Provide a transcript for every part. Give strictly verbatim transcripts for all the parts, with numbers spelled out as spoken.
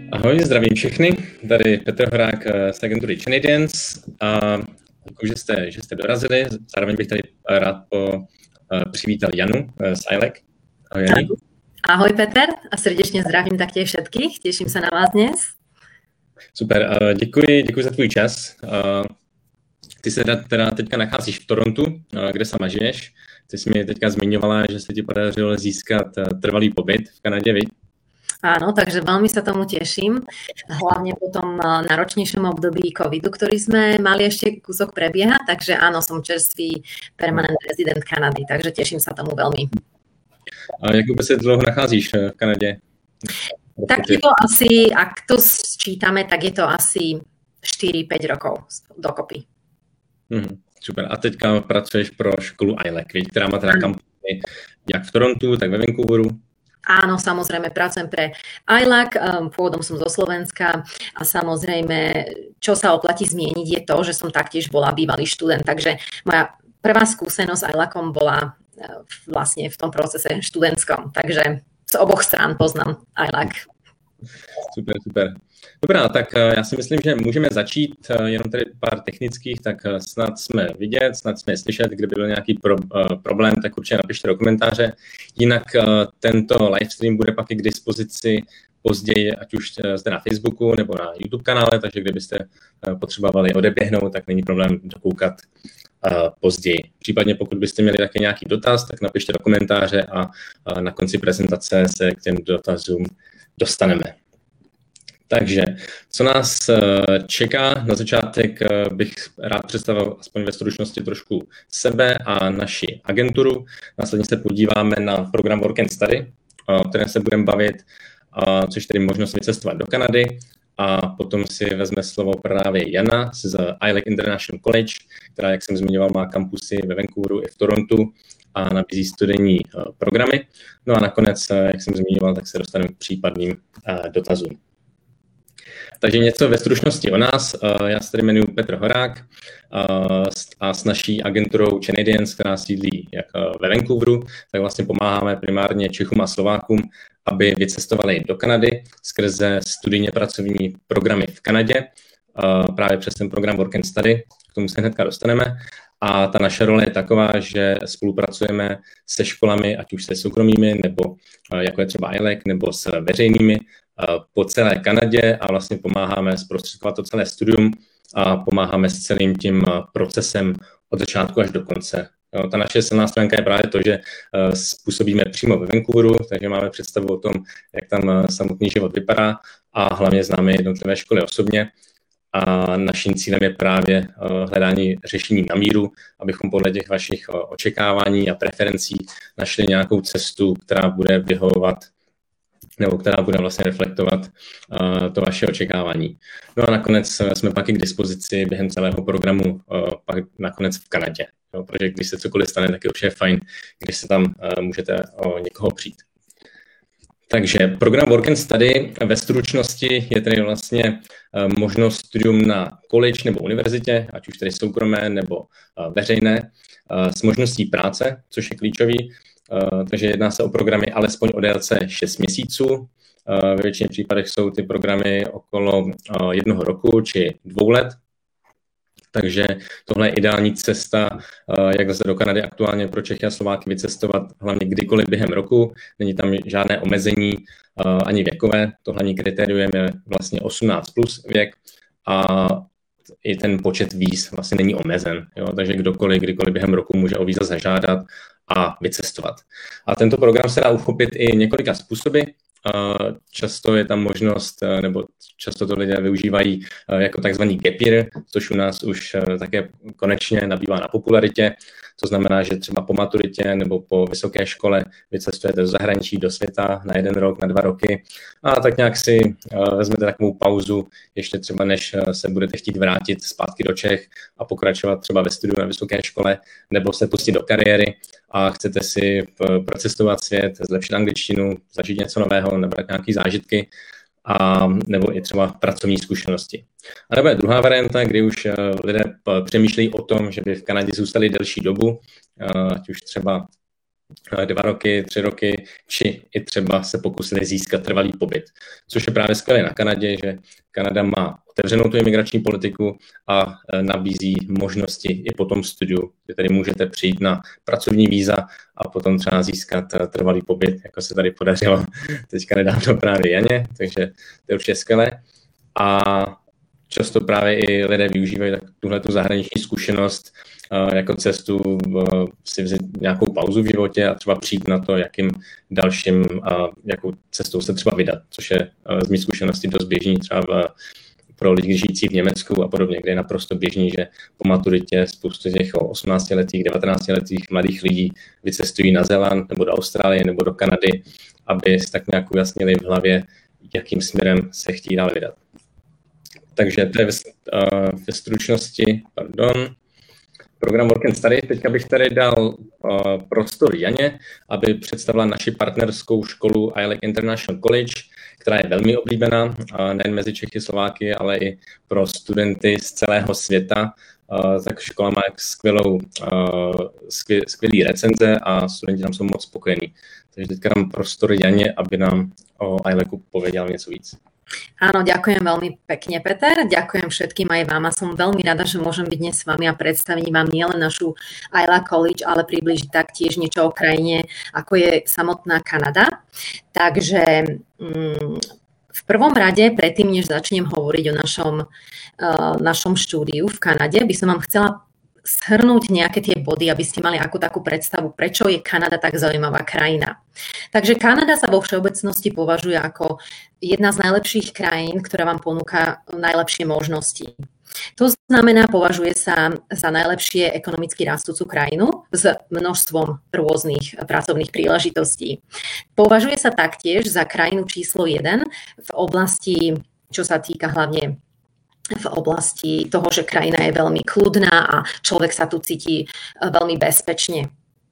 Ahoj, zdravím všechny. Tady Petr Horák z agentury Canadians a děkuji, že jste, že jste dorazili. Zároveň bych tady rád po, přivítal Janu z I L E C. Ahoj, Jani. Ahoj, Peter, a srdečně zdravím taktiež všetkých. Těším se na vás dnes. Super, děkuji, děkuji za tvůj čas. Ty se teda teďka nacházíš v Torontu, kde sama žiješ. Ty jsi mi teďka zmiňovala, že se ti podařilo získat trvalý pobyt v Kanadě, viď? Áno, takže veľmi sa tomu teším, hlavne po tom náročnejšom období covidu, ktorý sme mali ešte kúsok prebiehať, takže áno, som čerstvý permanent rezident Kanady, takže teším sa tomu veľmi. A jak vôbec sa dlho nacházíš v Kanade? Tak je to asi, ak to sčítame, tak je to asi štyri päť rokov dokopy. Hmm, super. A teďka pracuješ pro školu I L E C, ktorá má teda kampusy jak v Torontu, tak ve Vancouveru? Áno, samozrejme, pracujem pre I L A C, pôvodom som zo Slovenska a samozrejme, čo sa oplatí zmieniť je to, že som taktiež bola bývalý študent, takže moja prvá skúsenosť I L A C om bola vlastne v tom procese študentskom, takže z oboch strán poznám I L A C. Super, super. Dobrá, tak já si myslím, že můžeme začít, jenom tady pár technických, tak snad jsme vidět, snad jsme slyšet, kdyby byl nějaký pro, problém, tak určitě napište do komentáře. Jinak tento livestream bude pak i k dispozici později, ať už zde na Facebooku nebo na YouTube kanále, takže kdybyste potřebovali odeběhnout, tak není problém dokoukat později. Případně pokud byste měli také nějaký dotaz, tak napište do komentáře a na konci prezentace se k těm dotazům dostaneme. Takže, co nás čeká? Na začátek bych rád představil aspoň ve stručnosti trošku sebe a naši agenturu. Následně se podíváme na program Work and Study, o kterém se budeme bavit, což tedy možnost vycestovat do Kanady. A potom si vezme slovo právě Jana z I L E C International College, která, jak jsem zmiňoval, má kampusy ve Vancouveru i v Torontu a nabízí studijní programy. No a nakonec, jak jsem zmiňoval, tak se dostaneme k případným dotazům. Takže něco ve stručnosti o nás. Já se tady jmenuji Petr Horák a s naší agenturou Canadians, která sídlí jak ve Vancouveru, tak vlastně pomáháme primárně Čechům a Slovákům, aby vycestovali do Kanady skrze studijně pracovní programy v Kanadě, právě přes ten program Work and Study, k tomu se hnedka dostaneme. A ta naše role je taková, že spolupracujeme se školami, ať už se soukromými, nebo jako je třeba I L E C, nebo s veřejnými po celé Kanadě a vlastně pomáháme zprostředkovat to celé studium a pomáháme s celým tím procesem od začátku až do konce. Jo, ta naše silná stránka je právě to, že působíme přímo ve Vancouveru, takže máme představu o tom, jak tam samotný život vypadá a hlavně známe jednotlivé školy osobně. A naším cílem je právě hledání řešení na míru, abychom podle těch vašich očekávání a preferencí našli nějakou cestu, která bude vyhovovat nebo která bude vlastně reflektovat uh, to vaše očekávání. No a nakonec jsme pak i k dispozici během celého programu uh, pak nakonec v Kanadě. Jo, protože když se cokoliv stane, tak je určitě fajn, když se tam uh, můžete o někoho přijít. Takže program Work and Study ve stručnosti je tedy vlastně uh, možnost studium na college nebo univerzitě, ať už tedy soukromé nebo uh, veřejné, uh, s možností práce, což je klíčový. Uh, takže jedná se o programy alespoň o délce šest měsíců. Uh, ve většině případech jsou ty programy okolo uh, jednoho roku či dvou let. Takže tohle je ideální cesta, uh, jak zase do Kanady aktuálně pro Čechy a Slováky vycestovat hlavně kdykoliv během roku. Není tam žádné omezení uh, ani věkové. To hlavní kritérium je vlastně osmnáct plus věk a i ten počet víz vlastně není omezen. Jo? Takže kdokoliv, kdykoliv během roku může o víza zažádat a vycestovat. A tento program se dá uchopit i několika způsoby. Často je tam možnost, nebo často to lidé využívají jako takzvaný gap year, což u nás už také konečně nabývá na popularitě. To znamená, že třeba po maturitě nebo po vysoké škole vycestujete do zahraničí, do světa na jeden rok, na dva roky a tak nějak si vezmete takovou pauzu, ještě třeba než se budete chtít vrátit zpátky do Čech a pokračovat třeba ve studiu na vysoké škole nebo se pustit do kariéry a chcete si procestovat svět, zlepšit angličtinu, zažít něco nového, nabrat nějaké zážitky a nebo i třeba pracovní zkušenosti. A nebo je druhá varianta, kdy už lidé přemýšlejí o tom, že by v Kanadě zůstali delší dobu, ať už třeba dva roky, tři roky, či i třeba se pokusili získat trvalý pobyt. Což je právě skvělé na Kanadě, že Kanada má otevřenou tu imigrační politiku a nabízí možnosti i po tom studiu, kde tady můžete přijít na pracovní víza a potom třeba získat trvalý pobyt, jako se tady podařilo teďka nedávno právě Janě, takže to je určitě skvělé. A často právě i lidé využívají tuhle tu zahraniční zkušenost jako cestu si vzít nějakou pauzu v životě a třeba přijít na to, jakým dalším, jakou cestou se třeba vydat, což je z mých zkušeností dost běžný třeba v, pro lidi žijící v Německu a podobně, kde je naprosto běžný, že po maturitě spoustu těch osmnáctiletých, devatenáctiletých mladých lidí vycestují na Zéland nebo do Austrálie nebo do Kanady, aby si tak nějak ujasnili v hlavě, jakým směrem se chtějí dál vydat. Takže to je ve, ve stručnosti, pardon, program Work and Study. Teďka bych tady dal uh, prostor Janě, aby představila naši partnerskou školu I L A C International College, která je velmi oblíbená, uh, nejen mezi Čechy, Slováky, ale i pro studenty z celého světa. Uh, tak škola má skvělou, uh, skvěl, skvělý recenze a studenti tam jsou moc spokojení. Takže teďka dám prostor Janě, aby nám o I L A C povedala něco víc. Áno, ďakujem veľmi pekne, Peter. Ďakujem všetkým aj vám a som veľmi rada, že môžem byť dnes s vami a predstaviť vám nielen našu I L A C College, ale približiť taktiež niečo o krajine, ako je samotná Kanada. Takže mm, v prvom rade, predtým, než začnem hovoriť o našom, uh, našom štúdiu v Kanade, by som vám chcela shrnúť nejaké tie body, aby ste mali akú takú predstavu, prečo je Kanada tak zaujímavá krajina. Takže Kanada sa vo všeobecnosti považuje ako jedna z najlepších krajín, ktorá vám ponúka najlepšie možnosti. To znamená, považuje sa za najlepšie ekonomicky rastúcu krajinu s množstvom rôznych pracovných príležitostí. Považuje sa taktiež za krajinu číslo jeden v oblasti, čo sa týka hlavne v oblasti toho, že krajina je veľmi kľudná a človek sa tu cíti veľmi bezpečne.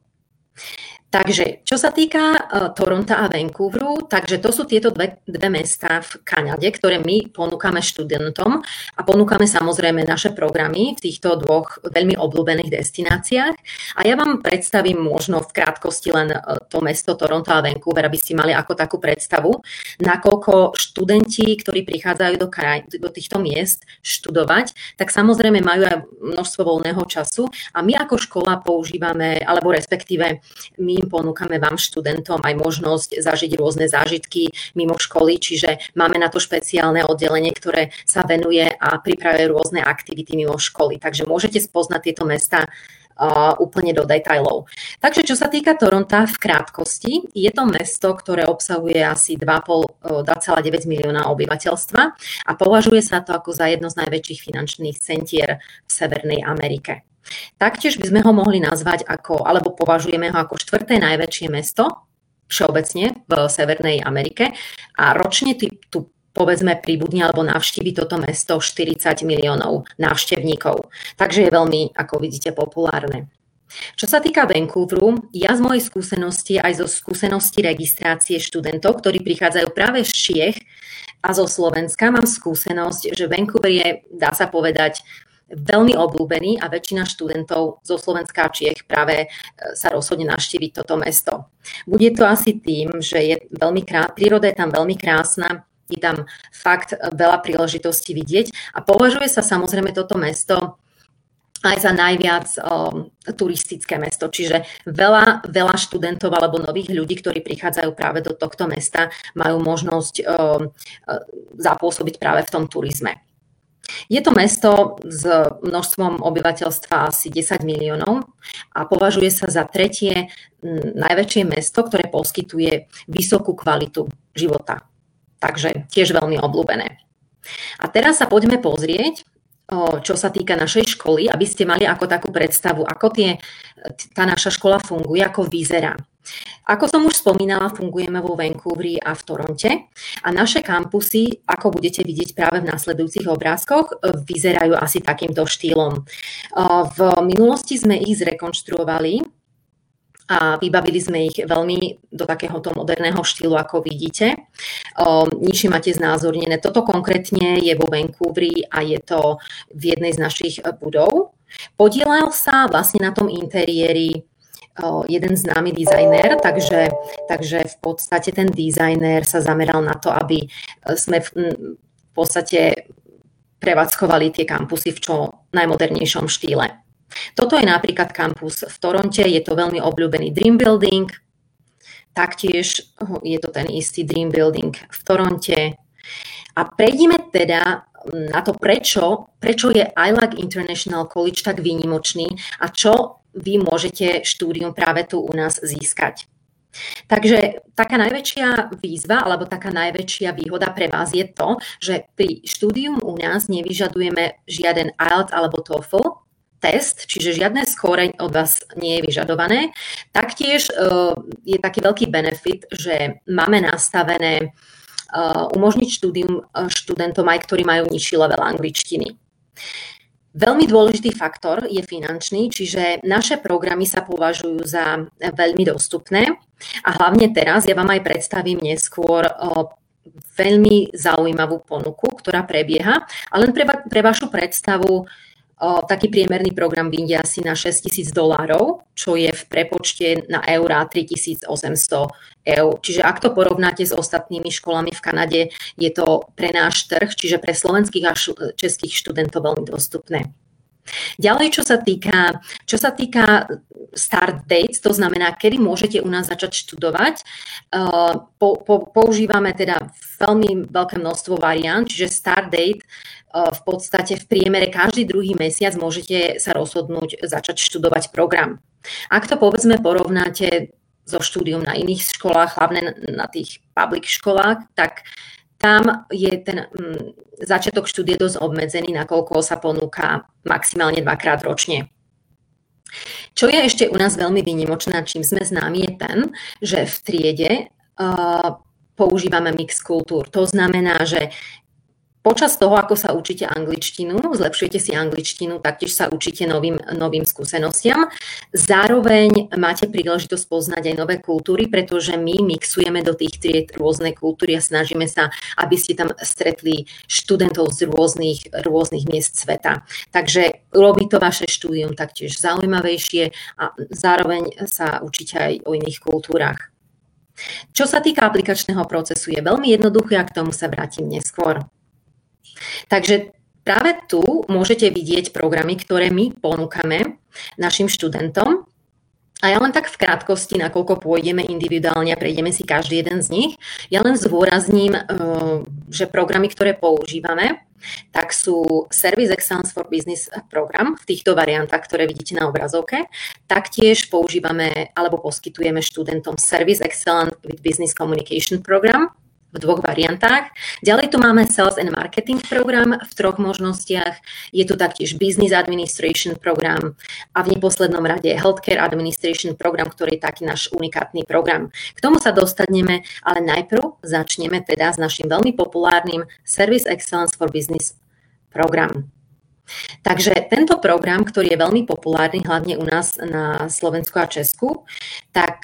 Takže, čo sa týka uh, Toronta a Vancouveru, takže to sú tieto dve, dve mestá v Kanade, ktoré my ponúkame študentom a ponúkame samozrejme naše programy v týchto dvoch veľmi obľúbených destináciách. A ja vám predstavím možno v krátkosti len uh, to mesto Toronto a Vancouver, aby ste mali ako takú predstavu, nakoľko študenti, ktorí prichádzajú do, kraj, do týchto miest študovať, tak samozrejme majú aj množstvo voľného času a my ako škola používame, alebo respektíve my ponúkame vám študentom aj možnosť zažiť rôzne zážitky mimo školy, čiže máme na to špeciálne oddelenie, ktoré sa venuje a pripravuje rôzne aktivity mimo školy. Takže môžete spoznať tieto mesta uh, úplne do detailov. Takže čo sa týka Toronta v krátkosti, je to mesto, ktoré obsahuje asi dva celé deväť milióna obyvateľstva a považuje sa to ako za jedno z najväčších finančných centier v Severnej Amerike. Taktiež by sme ho mohli nazvať ako, alebo považujeme ho ako štvrté najväčšie mesto všeobecne v Severnej Amerike a ročne tu, tu povedzme pribudne alebo navštívi toto mesto štyridsať miliónov návštevníkov. Takže je veľmi, ako vidíte, populárne. Čo sa týka Vancouveru, ja z mojej skúsenosti aj zo skúsenosti registrácie študentov, ktorí prichádzajú práve z Čiech a zo Slovenska, mám skúsenosť, že Vancouver je, dá sa povedať, veľmi obľúbený a väčšina študentov zo Slovenska a Čiech práve sa rozhodne navštíviť toto mesto. Bude to asi tým, že je veľmi krá... príroda je tam veľmi krásna, je tam fakt veľa príležitostí vidieť a považuje sa samozrejme toto mesto aj za najviac um, turistické mesto, čiže veľa, veľa študentov alebo nových ľudí, ktorí prichádzajú práve do tohto mesta, majú možnosť um, zapôsobiť práve v tom turizme. Je to mesto s množstvom obyvateľstva asi desať miliónov a považuje sa za tretie najväčšie mesto, ktoré poskytuje vysokú kvalitu života. Takže tiež veľmi obľúbené. A teraz sa poďme pozrieť, čo sa týka našej školy, aby ste mali ako takú predstavu, ako tie, tá naša škola funguje, ako vyzerá. Ako som už spomínala, fungujeme vo Vancouveri a v Toronte a naše kampusy, ako budete vidieť práve v nasledujúcich obrázkoch, vyzerajú asi takýmto štýlom. V minulosti sme ich zrekonštruovali a vybavili sme ich veľmi do takéhoto moderného štýlu, ako vidíte. Nižšie máte znázornené. Toto konkrétne je vo Vancouveri a je to v jednej z našich budov. Podielal sa vlastne na tom interiéri jeden známy dizajner, takže, takže v podstate ten dizajner sa zameral na to, aby sme v, v podstate prevádzkovali tie kampusy v čo najmodernejšom štýle. Toto je napríklad kampus v Toronte, je to veľmi obľúbený Dream Building, taktiež je to ten istý Dream Building v Toronte. A prejdime teda na to, prečo, prečo je I L A C International College tak výnimočný a čo vy môžete štúdium práve tu u nás získať. Takže taká najväčšia výzva alebo taká najväčšia výhoda pre vás je to, že pri štúdium u nás nevyžadujeme žiaden I E L T S alebo TOEFL test, čiže žiadne skóre od vás nie je vyžadované. Taktiež je taký veľký benefit, že máme nastavené umožniť štúdium študentom aj, ktorí majú nižší level angličtiny. Veľmi dôležitý faktor je finančný, čiže naše programy sa považujú za veľmi dostupné a hlavne teraz ja vám aj predstavím neskôr veľmi zaujímavú ponuku, ktorá prebieha, a len pre, pre vašu predstavu taký priemerný program vyjde asi na šesťtisíc dolárov, čo je v prepočte na eurá tritisícosemsto eur. Čiže ak to porovnáte s ostatnými školami v Kanade, je to pre náš trh, čiže pre slovenských a českých študentov veľmi dostupné. Ďalej, čo sa týka, čo sa týka start dates, to znamená, kedy môžete u nás začať študovať, po, po, používame teda veľmi veľké množstvo variant, čiže start date v podstate v priemere každý druhý mesiac môžete sa rozhodnúť začať študovať program. Ak to povedzme porovnáte so štúdium na iných školách, hlavne na tých public školách, tak tam je ten m, začiatok štúdie dosť obmedzený, nakoľko sa ponúka maximálne dvakrát ročne. Čo je ešte u nás veľmi výnimočné, čím sme známi, je ten, že v triede uh, používame mix kultúr. To znamená, že počas toho, ako sa učíte angličtinu, zlepšujete si angličtinu, taktiež sa učíte novým, novým skúsenostiam. Zároveň máte príležitosť poznať aj nové kultúry, pretože my mixujeme do tých tried rôzne kultúry a snažíme sa, aby ste tam stretli študentov z rôznych, rôznych miest sveta. Takže robí to vaše štúdium taktiež zaujímavejšie a zároveň sa učíte aj o iných kultúrach. Čo sa týka aplikačného procesu, je veľmi jednoduché a k tomu sa vrátim neskôr. Takže práve tu môžete vidieť programy, ktoré my ponúkame našim študentom. A ja len tak v krátkosti, nakoľko pôjdeme individuálne a prejdeme si každý jeden z nich, ja len zdôrazním, že programy, ktoré používame, tak sú Service Excellence for Business program v týchto variantách, ktoré vidíte na obrazovke. Taktiež používame alebo poskytujeme študentom Service Excellence with Business Communication program v dvoch variantách. Ďalej tu máme Sales and Marketing program v troch možnostiach. Je tu taktiež Business Administration program a v neposlednom rade Healthcare Administration program, ktorý je taký náš unikátny program. K tomu sa dostaneme, ale najprv začneme teda s našim veľmi populárnym Service Excellence for Business program. Takže tento program, ktorý je veľmi populárny, hlavne u nás na Slovensku a Česku, tak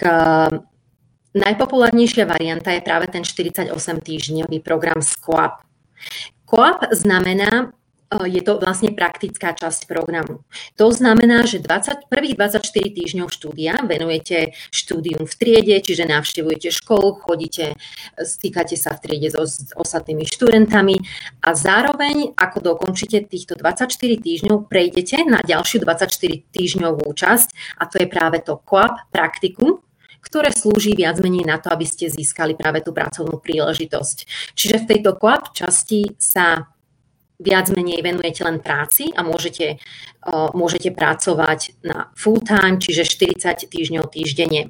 najpopulárnejšia varianta je práve ten štyridsaťosem týždňový program S Q A P. Q A P znamená, je to vlastne praktická časť programu. To znamená, že dvadsať, prvých dvadsaťštyri týždňov štúdia venujete štúdium v triede, čiže navštevujete školu, chodíte, stýkate sa v triede so, s ostatnými študentami a zároveň, ako dokončíte týchto dvadsaťštyri týždňov, prejdete na ďalšiu dvadsaťštyri týždňovú časť a to je práve to Q A P praktikum, ktoré slúži viac menej na to, aby ste získali práve tú pracovnú príležitosť. Čiže v tejto Q A P časti sa viac menej venujete len práci a môžete, uh, môžete pracovať na full time, čiže štyridsať týždňov týždenne.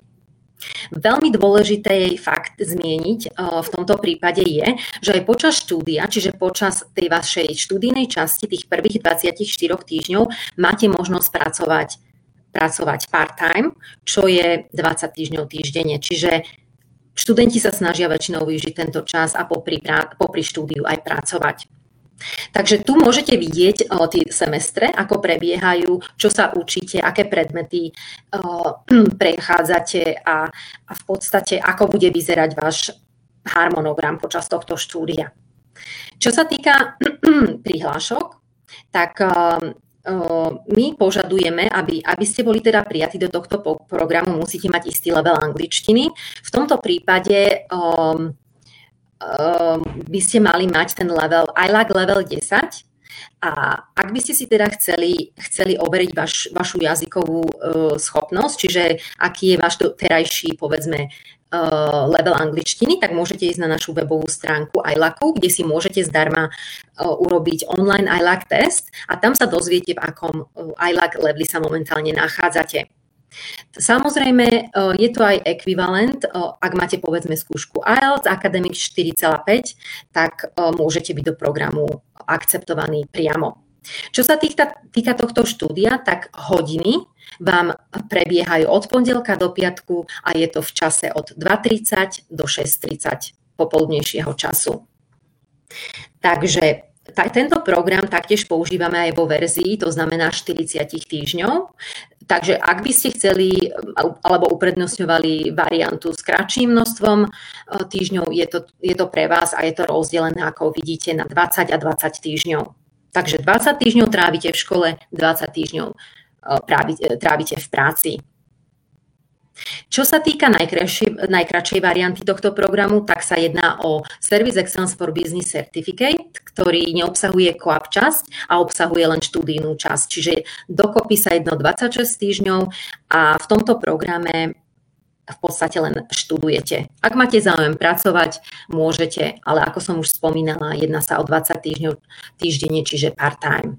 Veľmi dôležité je fakt zmieniť uh, v tomto prípade je, že aj počas štúdia, čiže počas tej vašej študijnej časti, tých prvých dvadsaťštyri týždňov, máte možnosť pracovať pracovať part-time, čo je dvadsať týždňov týždenne. Čiže študenti sa snažia väčšinou využiť tento čas a popri, popri štúdiu aj pracovať. Takže tu môžete vidieť o, tie semestre, ako prebiehajú, čo sa učíte, aké predmety o, prechádzate a, a v podstate ako bude vyzerať váš harmonogram počas tohto štúdia. Čo sa týka prihlášok, tak my požadujeme, aby, aby ste boli teda prijatí do tohto programu, musíte mať istý level angličtiny. V tomto prípade um, um, by ste mali mať ten level I L A C level desať. A ak by ste si teda chceli, chceli overiť vaš, vašu jazykovú uh, schopnosť, čiže aký je váš terajší, povedzme, Uh, level angličtiny, tak môžete ísť na našu webovú stránku I L A C, kde si môžete zdarma uh, urobiť online I L A C test a tam sa dozviete, v akom uh, I L A C leveli sa momentálne nachádzate. Samozrejme, uh, je to aj ekvivalent, uh, ak máte povedzme skúšku I E L T S Academic štyri celá päť, tak uh, môžete byť do programu akceptovaní priamo. Čo sa týka, týka tohto štúdia, tak hodiny vám prebiehajú od pondelka do piatku a je to v čase od dva tridsať do šesť tridsať popoludnejšieho času. Takže t- tento program taktiež používame aj vo verzii, to znamená štyridsať týždňov. Takže ak by ste chceli alebo uprednostňovali variantu s kratším množstvom týždňov, je to, je to pre vás a je to rozdelené, ako vidíte, na dvadsať a dvadsať týždňov. Takže dvadsať týždňov trávite v škole, dvadsať týždňov trávite v práci. Čo sa týka najkračšej, najkračšej varianty tohto programu, tak sa jedná o Service Excellence for Business Certificate, ktorý neobsahuje co-op časť a obsahuje len študijnú časť. Čiže dokopy sa jedno dvadsaťšesť týždňov a v tomto programe v podstate len študujete. Ak máte záujem pracovať, môžete, ale ako som už spomínala, jedná sa o dvadsať týždňov týždenne, čiže part-time.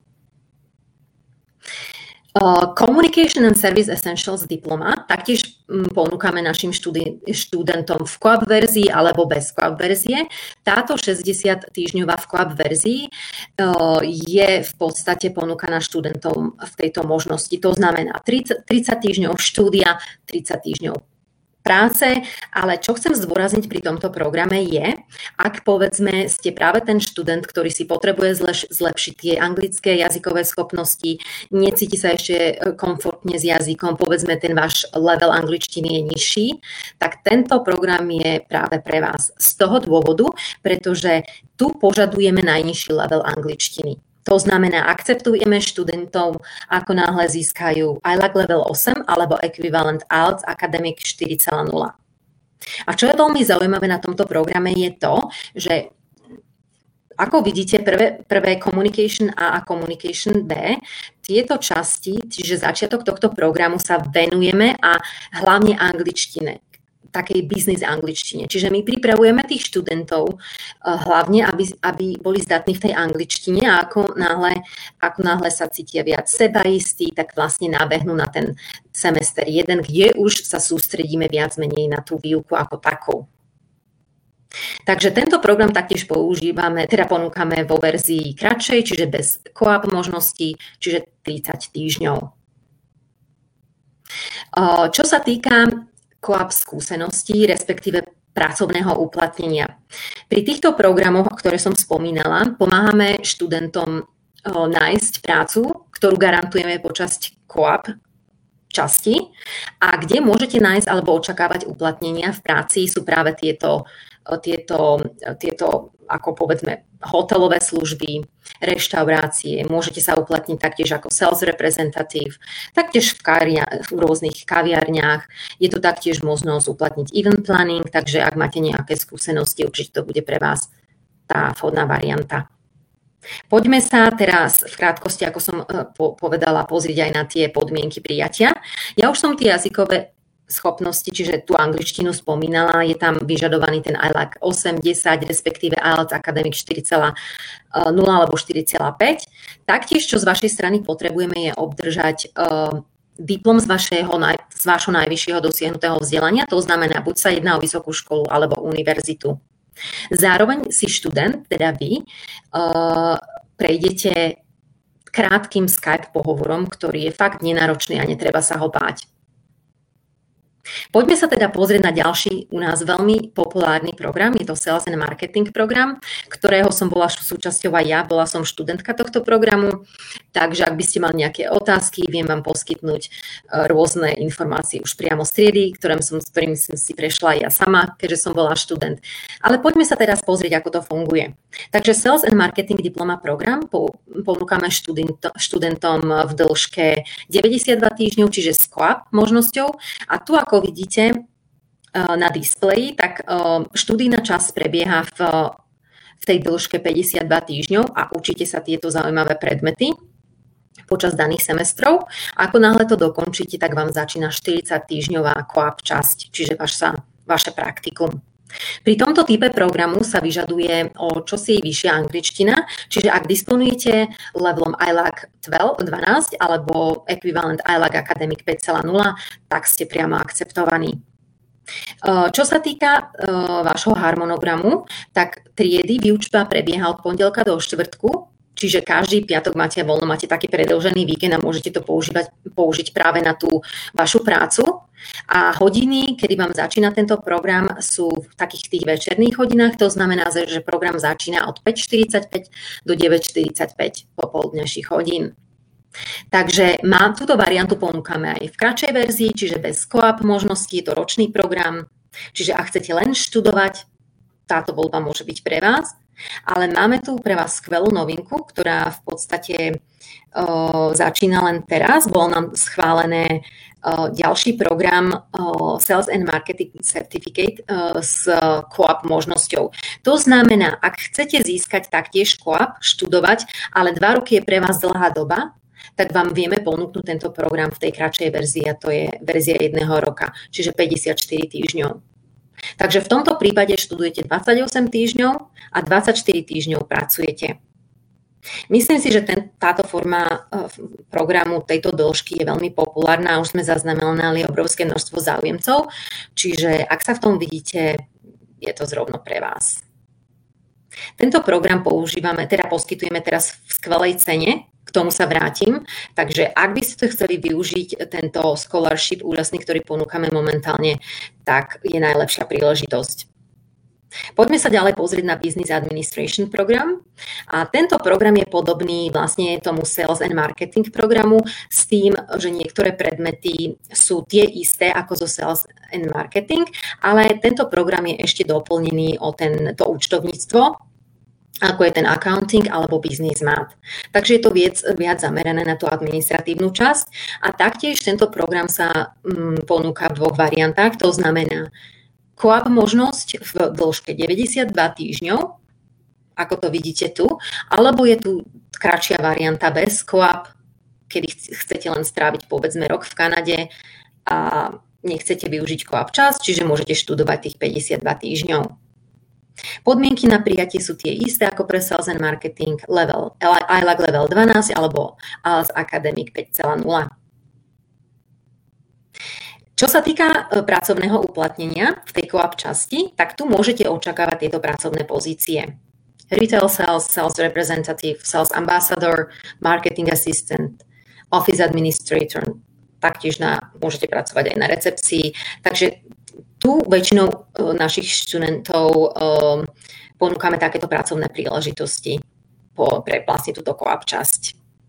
Uh, Communication and Service Essentials diploma taktiež um, ponúkame našim študi- študentom v co-op verzii alebo bez co-op verzie. Táto šesťdesiat týždňová v co-op verzii uh, je v podstate ponúkaná študentom v tejto možnosti. To znamená tridsať, tridsať týždňov štúdia, tridsať týždňov práce, ale čo chcem zdôrazniť pri tomto programe je, ak povedzme ste práve ten študent, ktorý si potrebuje zleš- zlepšiť tie anglické jazykové schopnosti, necíti sa ešte komfortne s jazykom, povedzme ten váš level angličtiny je nižší, tak tento program je práve pre vás z toho dôvodu, pretože tu požadujeme najnižší level angličtiny. To znamená, akceptujeme študentov, ako náhle získajú I L A C level osem alebo ekvivalent I E L T S Academic štyri celá nula. A čo je veľmi zaujímavé na tomto programe je to, že ako vidíte, prvé, prvé Communication A a Communication B, tieto časti, čiže začiatok tohto programu sa venujeme a hlavne angličtine, takej business angličtine. Čiže my pripravujeme tých študentov hlavne, aby, aby boli zdatní v tej angličtine a ako náhle, ako náhle sa cítia viac sebaistí, tak vlastne nábehnú na ten semester jeden, kde už sa sústredíme viac menej na tú výuku ako takú. Takže tento program taktiež používame, teda ponúkame vo verzii kratšej, čiže bez co-op možností, čiže tridsať týždňov. Čo sa týka co-op skúseností, respektíve pracovného uplatnenia. Pri týchto programoch, ktoré som spomínala, pomáhame študentom nájsť prácu, ktorú garantujeme počas co-op časti a kde môžete nájsť alebo očakávať uplatnenia v práci sú práve tieto, tieto, tieto ako povedzme hotelové služby, reštaurácie, môžete sa uplatniť taktiež ako sales representative, taktiež v, karia, v rôznych kaviarniach. Je tu taktiež možnosť uplatniť event planning, takže ak máte nejaké skúsenosti, určite to bude pre vás tá vhodná varianta. Poďme sa teraz v krátkosti, ako som povedala, pozrieť aj na tie podmienky prijatia. Ja už som tie jazykové schopnosti, čiže tú angličtinu spomínala, je tam vyžadovaný ten I L A C osem, desať, respektíve I L T S Academic štyri celá nula alebo štyri celá päť. Taktiež, čo z vašej strany potrebujeme, je obdržať uh, diplom z, vašeho, z vášho najvyššieho dosiahnutého vzdelania, to znamená, buď sa jedná o vysokú školu alebo univerzitu. Zároveň si študent, teda vy, uh, prejdete krátkým Skype pohovorom, ktorý je fakt nenáročný a netreba sa ho báť. Poďme sa teda pozrieť na ďalší u nás veľmi populárny program, je to Sales and Marketing program, ktorého som bola súčasťou aj ja, bola som študentka tohto programu, takže ak by ste mali nejaké otázky, viem vám poskytnúť rôzne informácie už priamo z triedy, ktorým som, s ktorými som si prešla aj ja sama, keďže som bola študent. Ale poďme sa teraz pozrieť, ako to funguje. Takže Sales and Marketing diploma program ponúkame študentom v dĺžke deväťdesiatdva týždňov, čiže s co-op možnosťou. A tu, ako vidíte na displeji, tak študijná časť prebieha v, v tej dĺžke päťdesiatdva týždňov a učíte sa tieto zaujímavé predmety počas daných semestrov. Ako náhle to dokončíte, tak vám začína štyridsať-týždňová co-op časť, čiže vaša, vaše praktikum. Pri tomto type programu sa vyžaduje o čosi vyššia angličtina, čiže ak disponujete levelom I L A C dvanásť alebo ekvivalent I L A C Academic päť bodka nula, tak ste priamo akceptovaní. Čo sa týka vášho harmonogramu, tak triedy výučba prebieha od pondelka do štvrtku, čiže každý piatok máte voľno, máte taký predĺžený víkend a môžete to používať, použiť práve na tú vašu prácu. A hodiny, kedy vám začína tento program, sú v takých tých večerných hodinách, to znamená, že program začína od päť štyridsaťpäť do deväť štyridsaťpäť popoludňajších hodín. Takže má, túto variantu ponúkame aj v kratšej verzii, čiže bez co-op možnosti, je to ročný program, čiže ak chcete len študovať, táto voľba môže byť pre vás. Ale máme tu pre vás skvelú novinku, ktorá v podstate o, začína len teraz. Bol nám schválené o, ďalší program o, Sales and Marketing Certificate o, s co-op možnosťou. To znamená, ak chcete získať taktiež co-op, študovať, ale dva roky je pre vás dlhá doba, tak vám vieme ponúknuť tento program v tej kratšej verzii a to je verzia jedného roka, čiže päťdesiatštyri týždňov. Takže v tomto prípade študujete dvadsaťosem týždňov a dvadsaťštyri týždňov pracujete. Myslím si, že ten, táto forma programu tejto dĺžky je veľmi populárna a už sme zaznamenali obrovské množstvo záujemcov, čiže ak sa v tom vidíte, je to zrovna pre vás. Tento program používame, teda poskytujeme teraz v skvelej cene, k tomu sa vrátim, takže ak by ste chceli využiť tento scholarship úžasný, ktorý ponúkame momentálne, tak je najlepšia príležitosť. Poďme sa ďalej pozrieť na Business Administration program a tento program je podobný vlastne tomu Sales and Marketing programu s tým, že niektoré predmety sú tie isté ako zo Sales and Marketing, ale tento program je ešte doplnený o tento účtovníctvo, ako je ten accounting alebo business math. Takže je to viac, viac zamerané na tú administratívnu časť a taktiež tento program sa mm, ponúka v dvoch variantách, to znamená co-op možnosť v dĺžke deväťdesiatdva týždňov, ako to vidíte tu, alebo je tu kratšia varianta bez co-op, kedy chcete len stráviť povedzme rok v Kanade a nechcete využiť co-op čas, čiže môžete študovať tých päťdesiatdva týždňov. Podmienky na prijatie sú tie isté ako pre Sales and Marketing level, I L A C level dvanásť alebo I L A C Academic päť bodka nula. Čo sa týka pracovného uplatnenia v tej co-op časti, tak tu môžete očakávať tieto pracovné pozície. Retail sales, sales representative, sales ambassador, marketing assistant, office administrator, taktiež na, môžete pracovať aj na recepcii. Takže tu väčšinou našich študentov um, ponúkame takéto pracovné príležitosti po, pre vlastne túto co-op časť.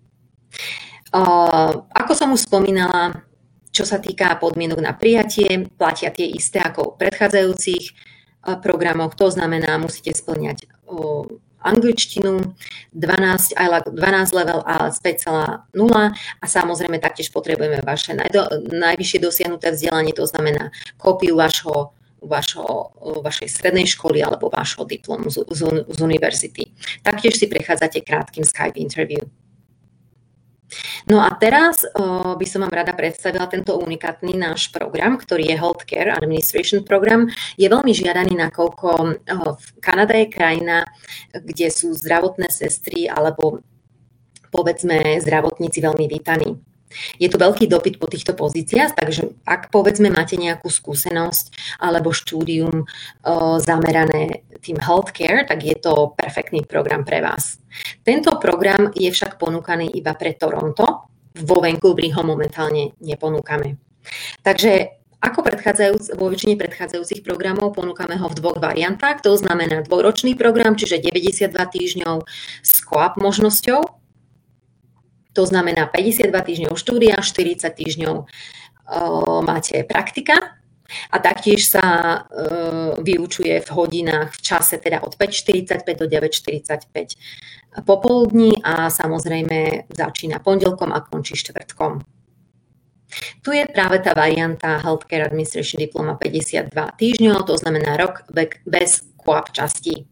Uh, ako som už spomínala, čo sa týka podmienok na prijatie, platia tie isté ako v predchádzajúcich uh, programoch. To znamená, musíte spĺňať uh, angličtinu, dvanásť, I L A C dvanásť level a päť bodka nula a samozrejme taktiež potrebujeme vaše najdo, najvyššie dosiahnuté vzdelanie, to znamená kópiu vašho, vašho, vašej strednej školy alebo vašho diplomu z, z, z univerzity. Taktiež si prechádzate krátkym Skype interview. No a teraz uh, by som vám rada predstavila tento unikátny náš program, ktorý je Healthcare Administration program. Je veľmi žiadaný, nakoľko uh, Kanada je krajina, kde sú zdravotné sestry alebo povedzme zdravotníci veľmi vítaní. Je tu veľký dopyt po týchto pozíciách, takže ak povedzme máte nejakú skúsenosť alebo štúdium uh, zamerané tým healthcare, tak je to perfektný program pre vás. Tento program je však ponúkaný iba pre Toronto, vo Vancouveri ho momentálne neponúkame. Takže Ako predchádzajúc, vo väčšine predchádzajúcich programov ponúkame ho v dvoch variantách, to znamená dvojročný program, čiže deväťdesiatdva týždňov s co-op možnosťou, to znamená päťdesiatdva týždňov štúdia, štyridsať týždňov o, máte praktika a taktiež sa e, vyučuje v hodinách v čase teda od päť štyridsaťpäť do deväť štyridsaťpäť popoludní a samozrejme začína pondelkom a končí štvrtkom. Tu je práve tá varianta Healthcare Administration Diploma päťdesiatdva týždňov, to znamená rok bez co-op častí.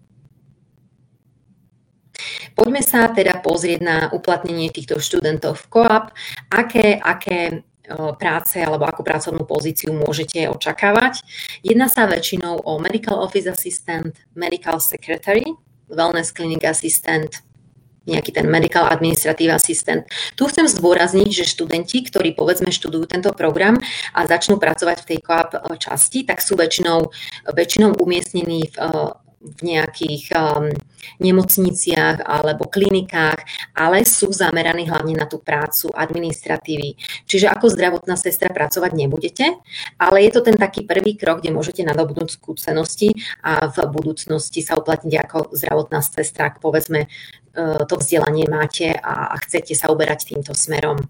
Poďme sa teda pozrieť na uplatnenie týchto študentov v co-op, aké, aké práce alebo akú pracovnú pozíciu môžete očakávať. Jedná sa väčšinou o Medical Office Assistant, Medical Secretary, Wellness Clinic Assistant, nejaký ten Medical Administrative Assistant. Tu chcem zdôrazniť, že študenti, ktorí povedzme študujú tento program a začnú pracovať v tej co-op časti, tak sú väčšinou, väčšinou umiestnení v, v nejakých um, nemocniciach alebo klinikách, ale sú zameraní hlavne na tú prácu administratívy. Čiže ako zdravotná sestra pracovať nebudete, ale je to ten taký prvý krok, kde môžete nadobudnúť skúsenosti a v budúcnosti sa uplatniť ako zdravotná sestra, ak povedzme to vzdelanie máte a chcete sa uberať týmto smerom.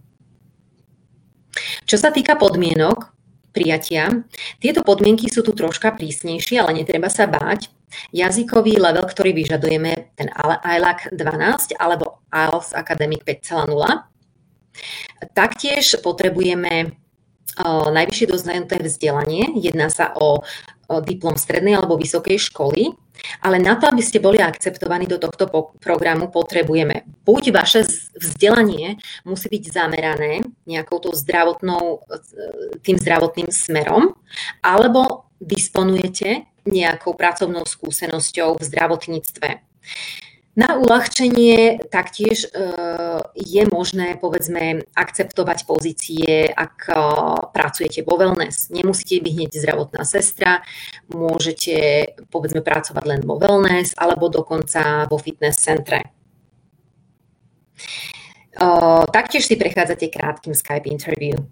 Čo sa týka podmienok prijatia, tieto podmienky sú tu troška prísnejšie, ale netreba sa báť. Jazykový level, ktorý vyžadujeme, ten I L A C dvanásť alebo I E L T S Academic päť bodka nula. Taktiež potrebujeme o, najvyššie doznaté vzdelanie. Jedná sa o, o diplom strednej alebo vysokej školy. Ale na to, aby ste boli akceptovaní do tohto programu, potrebujeme buď vaše vzdelanie musí byť zamerané nejakou tou zdravotnou, tým zdravotným smerom, alebo disponujete nejakou pracovnou skúsenosťou v zdravotníctve. Na uľahčenie taktiež e, je možné, povedzme, akceptovať pozície, ak e, pracujete vo wellness. Nemusíte byť hneď zdravotná sestra, môžete, povedzme, pracovať len vo wellness alebo dokonca vo fitness centre. E, taktiež si prechádzate krátkym Skype interview.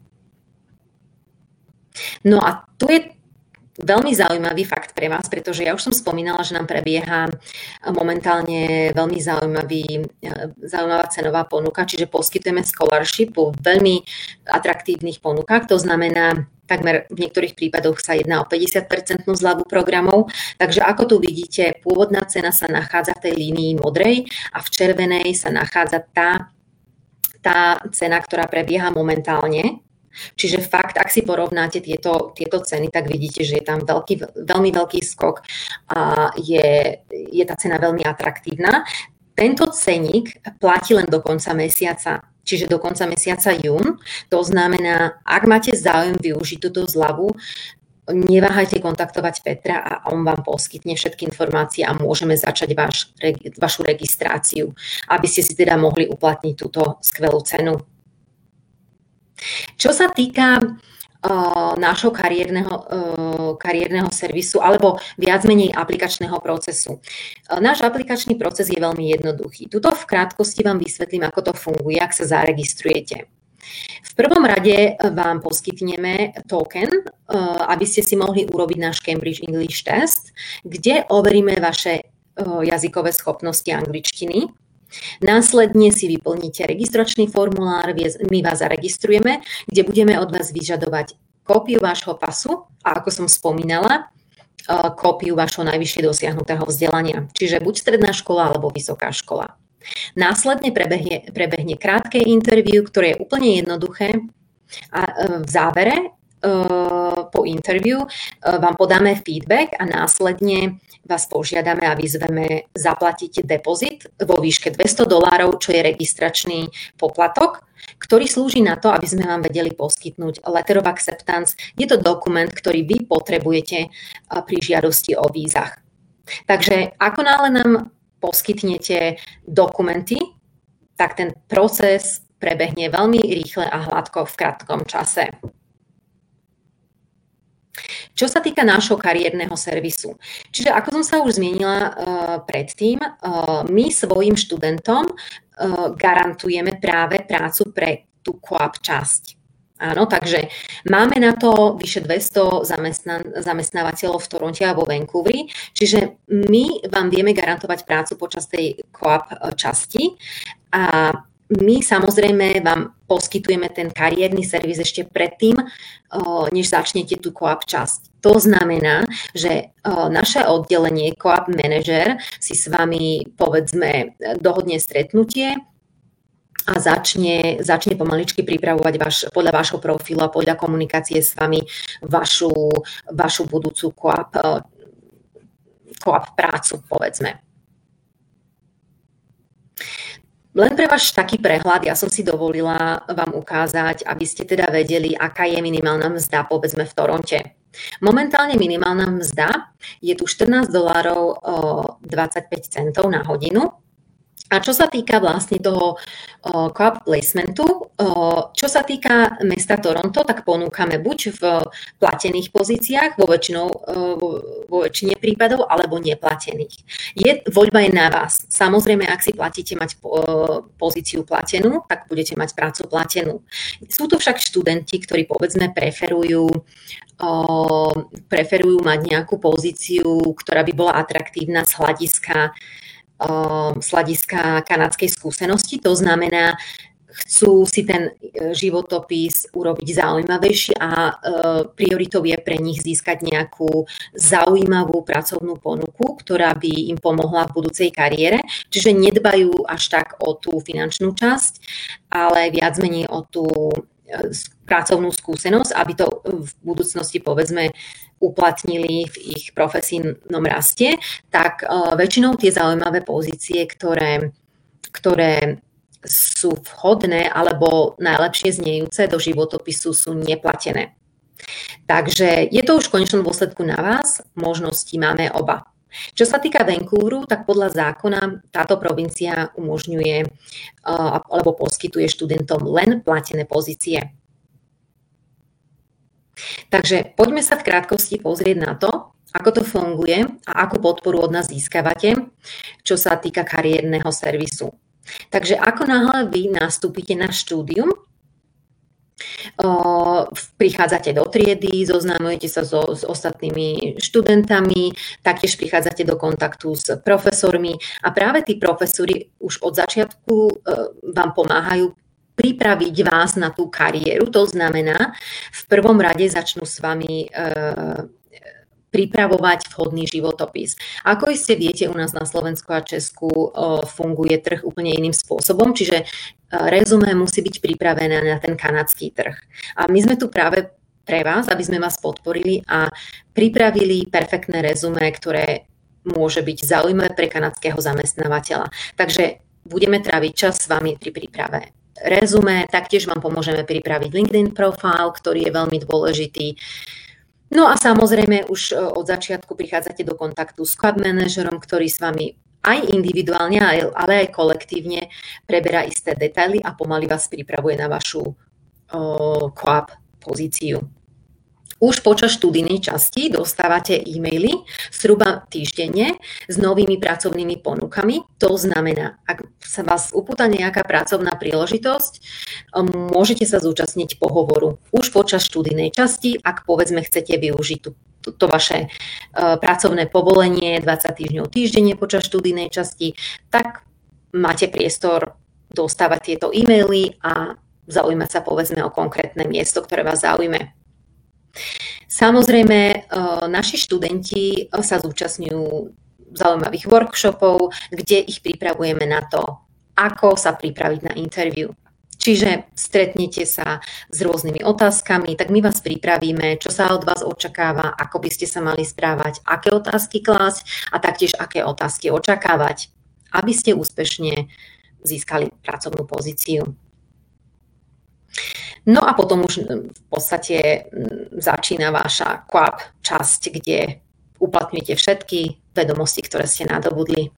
No a tu je veľmi zaujímavý fakt pre vás, pretože ja už som spomínala, že nám prebieha momentálne veľmi zaujímavý, zaujímavá cenová ponuka, čiže poskytujeme scholarship vo veľmi atraktívnych ponukách, to znamená, takmer v niektorých prípadoch sa jedná o päťdesiat percent zľavu programov, takže ako tu vidíte, pôvodná cena sa nachádza v tej línii modrej a v červenej sa nachádza tá, tá cena, ktorá prebieha momentálne. Čiže fakt, ak si porovnáte tieto, tieto ceny, tak vidíte, že je tam veľký, veľmi veľký skok a je, je tá cena veľmi atraktívna. Tento ceník platí len do konca mesiaca, čiže do konca mesiaca jún. To znamená, ak máte záujem využiť túto zľavu, neváhajte kontaktovať Petra a on vám poskytne všetky informácie a môžeme začať vaš, vašu registráciu, aby ste si teda mohli uplatniť túto skvelú cenu. Čo sa týka uh, nášho kariérneho, uh, kariérneho servisu alebo viac menej aplikačného procesu. Uh, náš aplikačný proces je veľmi jednoduchý. Tuto v krátkosti vám vysvetlím, ako to funguje, ak sa zaregistrujete. V prvom rade vám poskytneme token, uh, aby ste si mohli urobiť náš Cambridge English Test, kde overíme vaše uh, jazykové schopnosti angličtiny. Následne si vyplníte registračný formulár, my vás zaregistrujeme, kde budeme od vás vyžadovať kópiu vášho pasu a ako som spomínala, kópiu vášho najvyššie dosiahnutého vzdelania, čiže buď stredná škola alebo vysoká škola. Následne prebehne, prebehne krátke interview, ktoré je úplne jednoduché a v závere po interview vám podáme feedback a následne vás požiadame a vyzveme zaplatiť depozit vo výške dvesto dolárov, čo je registračný poplatok, ktorý slúži na to, aby sme vám vedeli poskytnúť letter of acceptance. Je to dokument, ktorý vy potrebujete pri žiadosti o vízach. Takže ako náhle nám poskytnete dokumenty, tak ten proces prebehne veľmi rýchle a hladko v krátkom čase. Čo sa týka nášho kariérneho servisu. Čiže ako som sa už zmienila uh, predtým, uh, my svojim študentom uh, garantujeme práve prácu pre tú co-op časť. Áno, takže máme na to vyše dvesto zamestnan- zamestnávateľov v Toronte a vo Vancouveri, čiže my vám vieme garantovať prácu počas tej co-op časti a my samozrejme vám poskytujeme ten kariérny servis ešte predtým, než začnete tú co-op časť. To znamená, že naše oddelenie co-op manažer si s vami, povedzme, dohodne stretnutie a začne, začne pomaličky pripravovať vaš, podľa vášho profilu a podľa komunikácie s vami vašu, vašu budúcu co-op, co-op prácu, povedzme. Len pre váš taký prehľad, ja som si dovolila vám ukázať, aby ste teda vedeli, aká je minimálna mzda, povedzme, v Toronte. Momentálne minimálna mzda je tu štrnásť dolárov dvadsaťpäť centov na hodinu. A čo sa týka vlastne toho uh, co-op placementu, uh, čo sa týka mesta Toronto, tak ponúkame buď v platených pozíciách, vo, väčšinou, uh, vo, vo väčšine prípadov, alebo neplatených. Je, voľba je na vás. Samozrejme, ak si platíte mať uh, pozíciu platenú, tak budete mať prácu platenú. Sú to však študenti, ktorí povedzme preferujú uh, preferujú mať nejakú pozíciu, ktorá by bola atraktívna z hľadiska z hľadiska kanadskej skúsenosti. To znamená, chcú si ten životopis urobiť zaujímavejší a prioritou je pre nich získať nejakú zaujímavú pracovnú ponuku, ktorá by im pomohla v budúcej kariére. Čiže nedbajú až tak o tú finančnú časť, ale viac menej o tú pracovnú skúsenosť, aby to v budúcnosti, povedzme, uplatnili v ich profesijnom raste, tak uh, väčšinou tie zaujímavé pozície, ktoré, ktoré sú vhodné alebo najlepšie znejúce do životopisu, sú neplatené. Takže je to už v konečnom dôsledku na vás, možnosti máme oba. Čo sa týka Vancouveru, tak podľa zákona táto provincia umožňuje uh, alebo poskytuje študentom len platené pozície. Takže poďme sa v krátkosti pozrieť na to, ako to funguje a akú podporu od nás získavate, čo sa týka kariérneho servisu. Takže ako náhle vy nastúpite na štúdium, prichádzate do triedy, zoznamujete sa so, s ostatnými študentami, taktiež prichádzate do kontaktu s profesormi a práve tí profesori už od začiatku vám pomáhajú pripraviť vás na tú kariéru. To znamená, v prvom rade začnú s vami e, pripravovať vhodný životopis. Ako iste viete, u nás na Slovensku a Česku e, funguje trh úplne iným spôsobom, čiže e, rezumé musí byť pripravené na ten kanadský trh. A my sme tu práve pre vás, aby sme vás podporili a pripravili perfektné rezumé, ktoré môže byť zaujímavé pre kanadského zamestnávateľa. Takže budeme tráviť čas s vami pri príprave rezumé, taktiež vám pomôžeme pripraviť LinkedIn profil, ktorý je veľmi dôležitý. No a samozrejme už od začiatku prichádzate do kontaktu s co-op manažerom, ktorý s vami aj individuálne, ale aj kolektívne preberá isté detaily a pomaly vás pripravuje na vašu co-op pozíciu. Už počas študijnej časti dostávate e-maily zhruba týždenne s novými pracovnými ponukami. To znamená, ak sa vás upúta nejaká pracovná príležitosť, môžete sa zúčastniť pohovoru už počas študijnej časti, ak povedzme chcete využiť to, to, to vaše uh, pracovné povolenie dvadsať týždňov týždenne počas študijnej časti, tak máte priestor dostávať tieto e-maily a zaujímať sa povedzme o konkrétne miesto, ktoré vás zaujme. Samozrejme, naši študenti sa zúčastňujú zaujímavých workshopov, kde ich pripravujeme na to, ako sa pripraviť na interview. Čiže stretnete sa s rôznymi otázkami, tak my vás pripravíme, čo sa od vás očakáva, ako by ste sa mali správať, aké otázky klásť a taktiež aké otázky očakávať, aby ste úspešne získali pracovnú pozíciu. No a potom už v podstate začína vaša co-op časť, kde uplatňujete všetky vedomosti, ktoré ste nadobudli.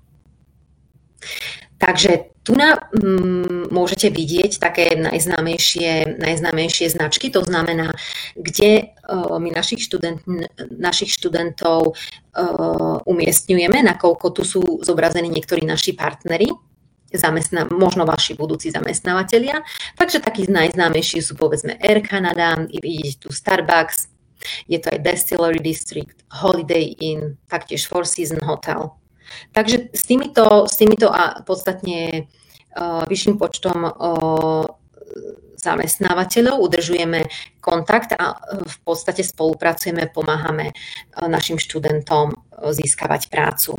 Takže tu na, m, môžete vidieť také najznámejšie, najznámejšie značky, to znamená, kde uh, my našich, študent, našich študentov uh, umiestňujeme, nakoľko tu sú zobrazení niektorí naši partneri. zamestná, možno vaši budúci zamestnávateľia. Takže takí najznámejší sú povedzme Air Canada, vidíte tu Starbucks, je to aj Distillery District, Holiday Inn, taktiež Four Seasons Hotel. Takže s týmito, s týmito a podstatne uh, vyšším počtom uh, zamestnávateľov udržujeme kontakt a v podstate spolupracujeme, pomáhame uh, našim študentom uh, získavať prácu.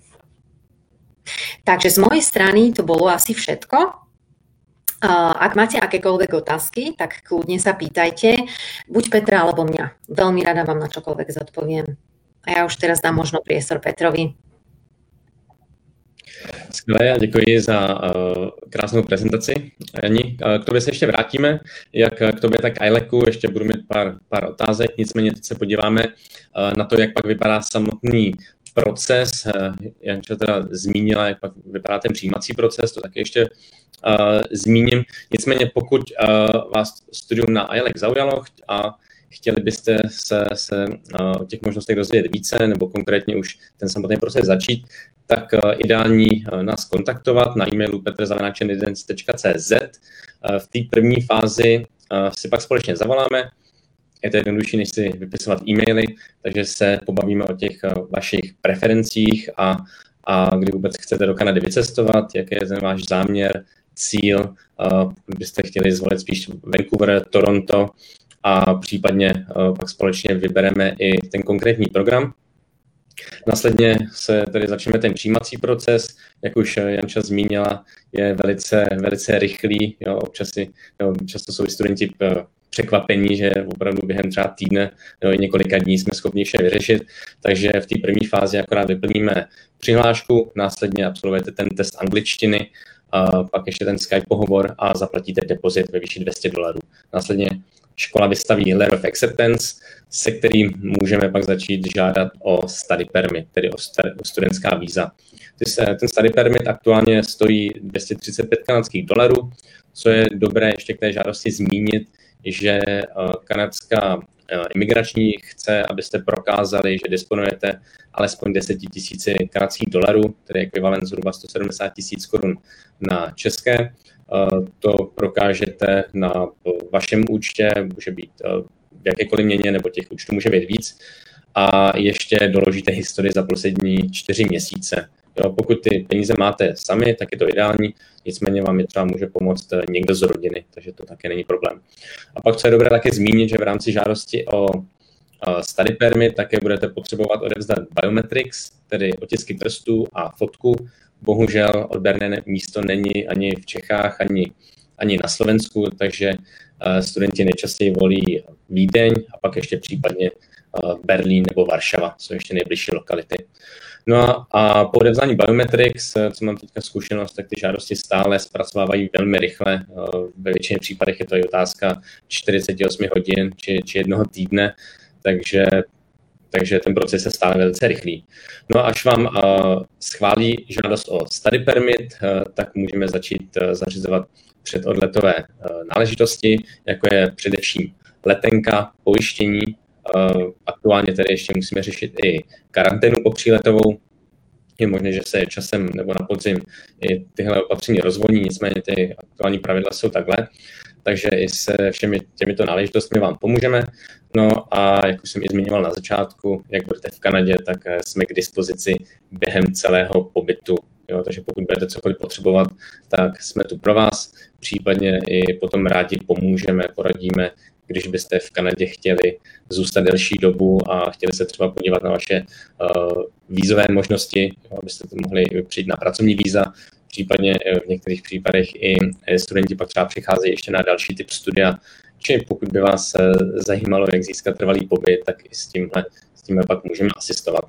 Takže z mojej strany to bolo asi všetko. Ak máte akékoľvek otázky, tak kľudne sa pýtajte, buď Petra alebo mňa. Veľmi rada vám na čokoľvek zodpoviem. A ja už teraz dám možno priestor Petrovi. Skvěle, já děkuji za uh, krásnou prezentaci. Jani, uh, k tobě se ještě vrátíme, jak k tobě, tak I L A C u, ještě budu mít pár, pár otázek, nicméně teď se podíváme uh, na to, jak pak vypadá samotný proces. Uh, Janča teda zmínila, jak pak vypadá ten přijímací proces, to taky ještě uh, zmíním. Nicméně pokud uh, vás studium na I L A C zaujalo a chtěli byste se, se uh, o těch možnostech dozvědět více, nebo konkrétně už ten samotný proces začít, tak uh, ideální uh, nás kontaktovat na e-mailu petr zavináč evidence tečka cé zet. Uh, v té první fázi uh, si pak společně zavoláme. Je to jednodušší, než si vypisovat e-maily, takže se pobavíme o těch uh, vašich preferencích a, a kdy vůbec chcete do Kanady vycestovat, jaký je ten váš záměr, cíl, uh, byste chtěli zvolit spíš Vancouver, Toronto, a případně uh, pak společně vybereme i ten konkrétní program. Následně se tedy začneme ten přijímací proces, jak už Janča zmínila, je velice, velice rychlý, jo, občas si, jo, často jsou studenti překvapení, že opravdu během třeba týdne nebo několika dní jsme schopni vše vyřešit, takže v té první fázi akorát vyplníme přihlášku, následně absolvujete ten test angličtiny, a pak ještě ten Skype pohovor a zaplatíte depozit ve výši dvě stě dolarů. Následně škola vystaví letter of acceptance, se kterým můžeme pak začít žádat o study permit, tedy o, st- o studentská víza. Ten study permit aktuálně stojí dvě stě třicet pět kanadských dolarů, co je dobré ještě k té žádosti zmínit, že kanadská imigrační chce, abyste prokázali, že disponujete alespoň deset tisíc kanadských dolarů, tedy ekvivalent zhruba sto sedmdesát tisíc korun na české. To prokážete na vašem účtě, může být v jakékoliv měně, nebo těch účtů může být víc. A ještě doložíte historii za poslední čtyři měsíce. Jo, pokud ty peníze máte sami, tak je to ideální, nicméně vám je třeba může pomoct někdo z rodiny, takže to také není problém. A pak, co je dobré také zmínit, že v rámci žádosti o study permit také budete potřebovat odevzdat biometrics, tedy otisky prstů a fotku. Bohužel odberné místo není ani v Čechách, ani, ani na Slovensku, takže studenti nejčastěji volí Vídeň a pak ještě případně Berlín nebo Varšava, jsou ještě nejbližší lokality. No a po odevzdání biometrics, co mám teďka zkušenost, tak ty žádosti stále zpracovávají velmi rychle. Ve většině případech je to i otázka čtyřicet osm hodin či, či jednoho týdne, takže, takže ten proces je stále velice rychlý. No a až vám schválí žádost o study permit, tak můžeme začít zařizovat předodletové náležitosti, jako je především letenka, pojištění. Aktuálně tedy ještě musíme řešit i karanténu popříletovou. Je možné, že se časem nebo na podzim i tyhle opatření rozvolní, nicméně ty aktuální pravidla jsou takhle. Takže i se všemi těmito náležitostmi vám pomůžeme. No a jak už jsem i zmiňoval na začátku, jak budete v Kanadě, tak jsme k dispozici během celého pobytu. Jo, takže pokud budete cokoliv potřebovat, tak jsme tu pro vás. Případně i potom rádi pomůžeme, poradíme, když byste v Kanadě chtěli zůstat delší dobu a chtěli se třeba podívat na vaše uh, vízové možnosti, jo, abyste to mohli přijít na pracovní víza. Případně v některých případech i studenti pak třeba přicházejí ještě na další typ studia, či pokud by vás zajímalo, jak získat trvalý pobyt, tak i s tímhle, s tímhle pak můžeme asistovat.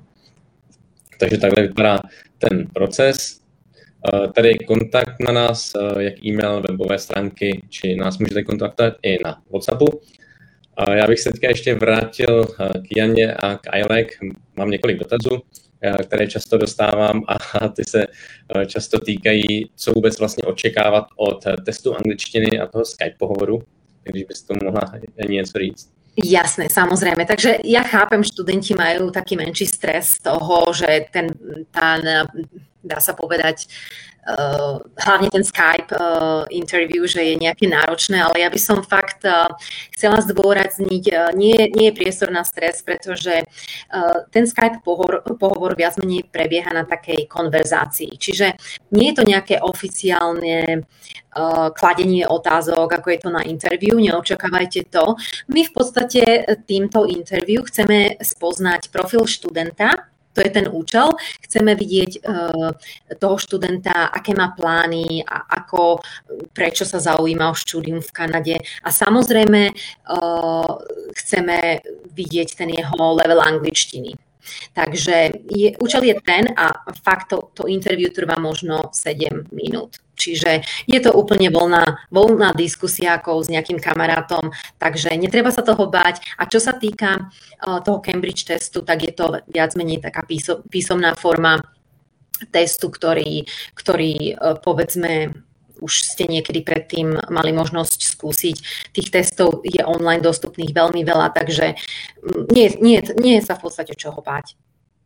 Takže takhle vypadá ten proces. Tady kontakt na nás, jak e-mail, webové stránky, či nás můžete kontaktovat i na WhatsAppu. Já bych se teďka ještě vrátil k Janě a k I L A C. Mám několik dotazů, které často dostávám a ty se často týkají, co vůbec vlastně očekávat od testu angličtiny a toho Skype pohovoru. Takže byste tomu mohla něco říct. Jasné, samozrejme. Takže ja chápem, študenti majú taký menší stres z toho, že ten, tá dá sa povedať, uh, hlavne ten Skype uh, interview, že je nejaké náročné, ale ja by som fakt uh, chcela zdôrazniť, uh, nie, nie je priestor na stres, pretože uh, ten Skype pohovor, pohovor viac menej prebieha na takej konverzácii. Čiže nie je to nejaké oficiálne uh, kladenie otázok, ako je to na interview, neočakávajte to. My v podstate týmto interview chceme spoznať profil študenta. To je ten účel. Chceme vidieť uh, toho študenta, aké má plány a ako, prečo sa zaujíma o štúdium v Kanade. A samozrejme uh, chceme vidieť ten jeho level angličtiny. Takže je, účel je ten a fakt to, to interview trvá možno sedem minút. Čiže je to úplne voľná, voľná diskusia ako s nejakým kamarátom, takže netreba sa toho báť. A čo sa týka uh, toho Cambridge testu, tak je to viac menej taká písom, písomná forma testu, ktorý, ktorý uh, povedzme už ste niekedy predtým mali možnosť skúsiť. Tých testov je online dostupných veľmi veľa, takže nie, nie, nie je sa v podstate čoho báť.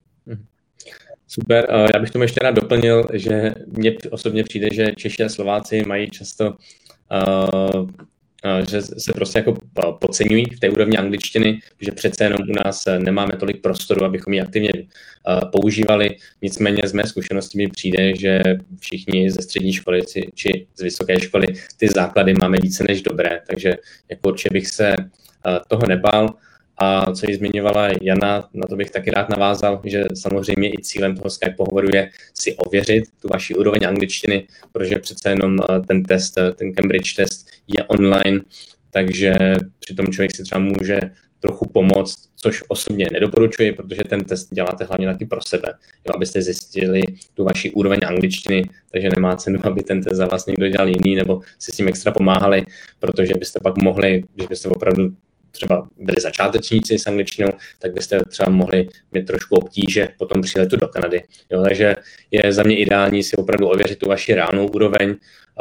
Super, já bych tomu ještě rád doplnil, že mně osobně přijde, že Češi a Slováci mají často, uh, uh, že se prostě jako podceňují v té úrovni angličtiny, že přece jenom u nás nemáme tolik prostoru, abychom ji aktivně uh, používali. Nicméně z mé zkušenosti mi přijde, že všichni ze střední školy či z vysoké školy ty základy máme více než dobré, takže jako určitě bych se uh, toho nebál. A co ji zmiňovala Jana, na to bych taky rád navázal, že samozřejmě i cílem toho Skype pohovoru je si ověřit tu vaši úroveň angličtiny, protože přece jenom ten test, ten Cambridge test je online, takže přitom člověk si třeba může trochu pomoct, což osobně nedoporučuji, protože ten test děláte hlavně taky pro sebe, jo, abyste zjistili tu vaši úroveň angličtiny, takže nemá cenu, aby ten test za vás někdo dělal jiný nebo si s tím extra pomáhali, protože byste pak mohli, když byste opravdu třeba byli začátečníci s angličtinou, tak byste třeba mohli mít trošku obtíže po tom příletu do Kanady. Jo, takže je za mě ideální si opravdu ověřit tu vaši reálnou úroveň,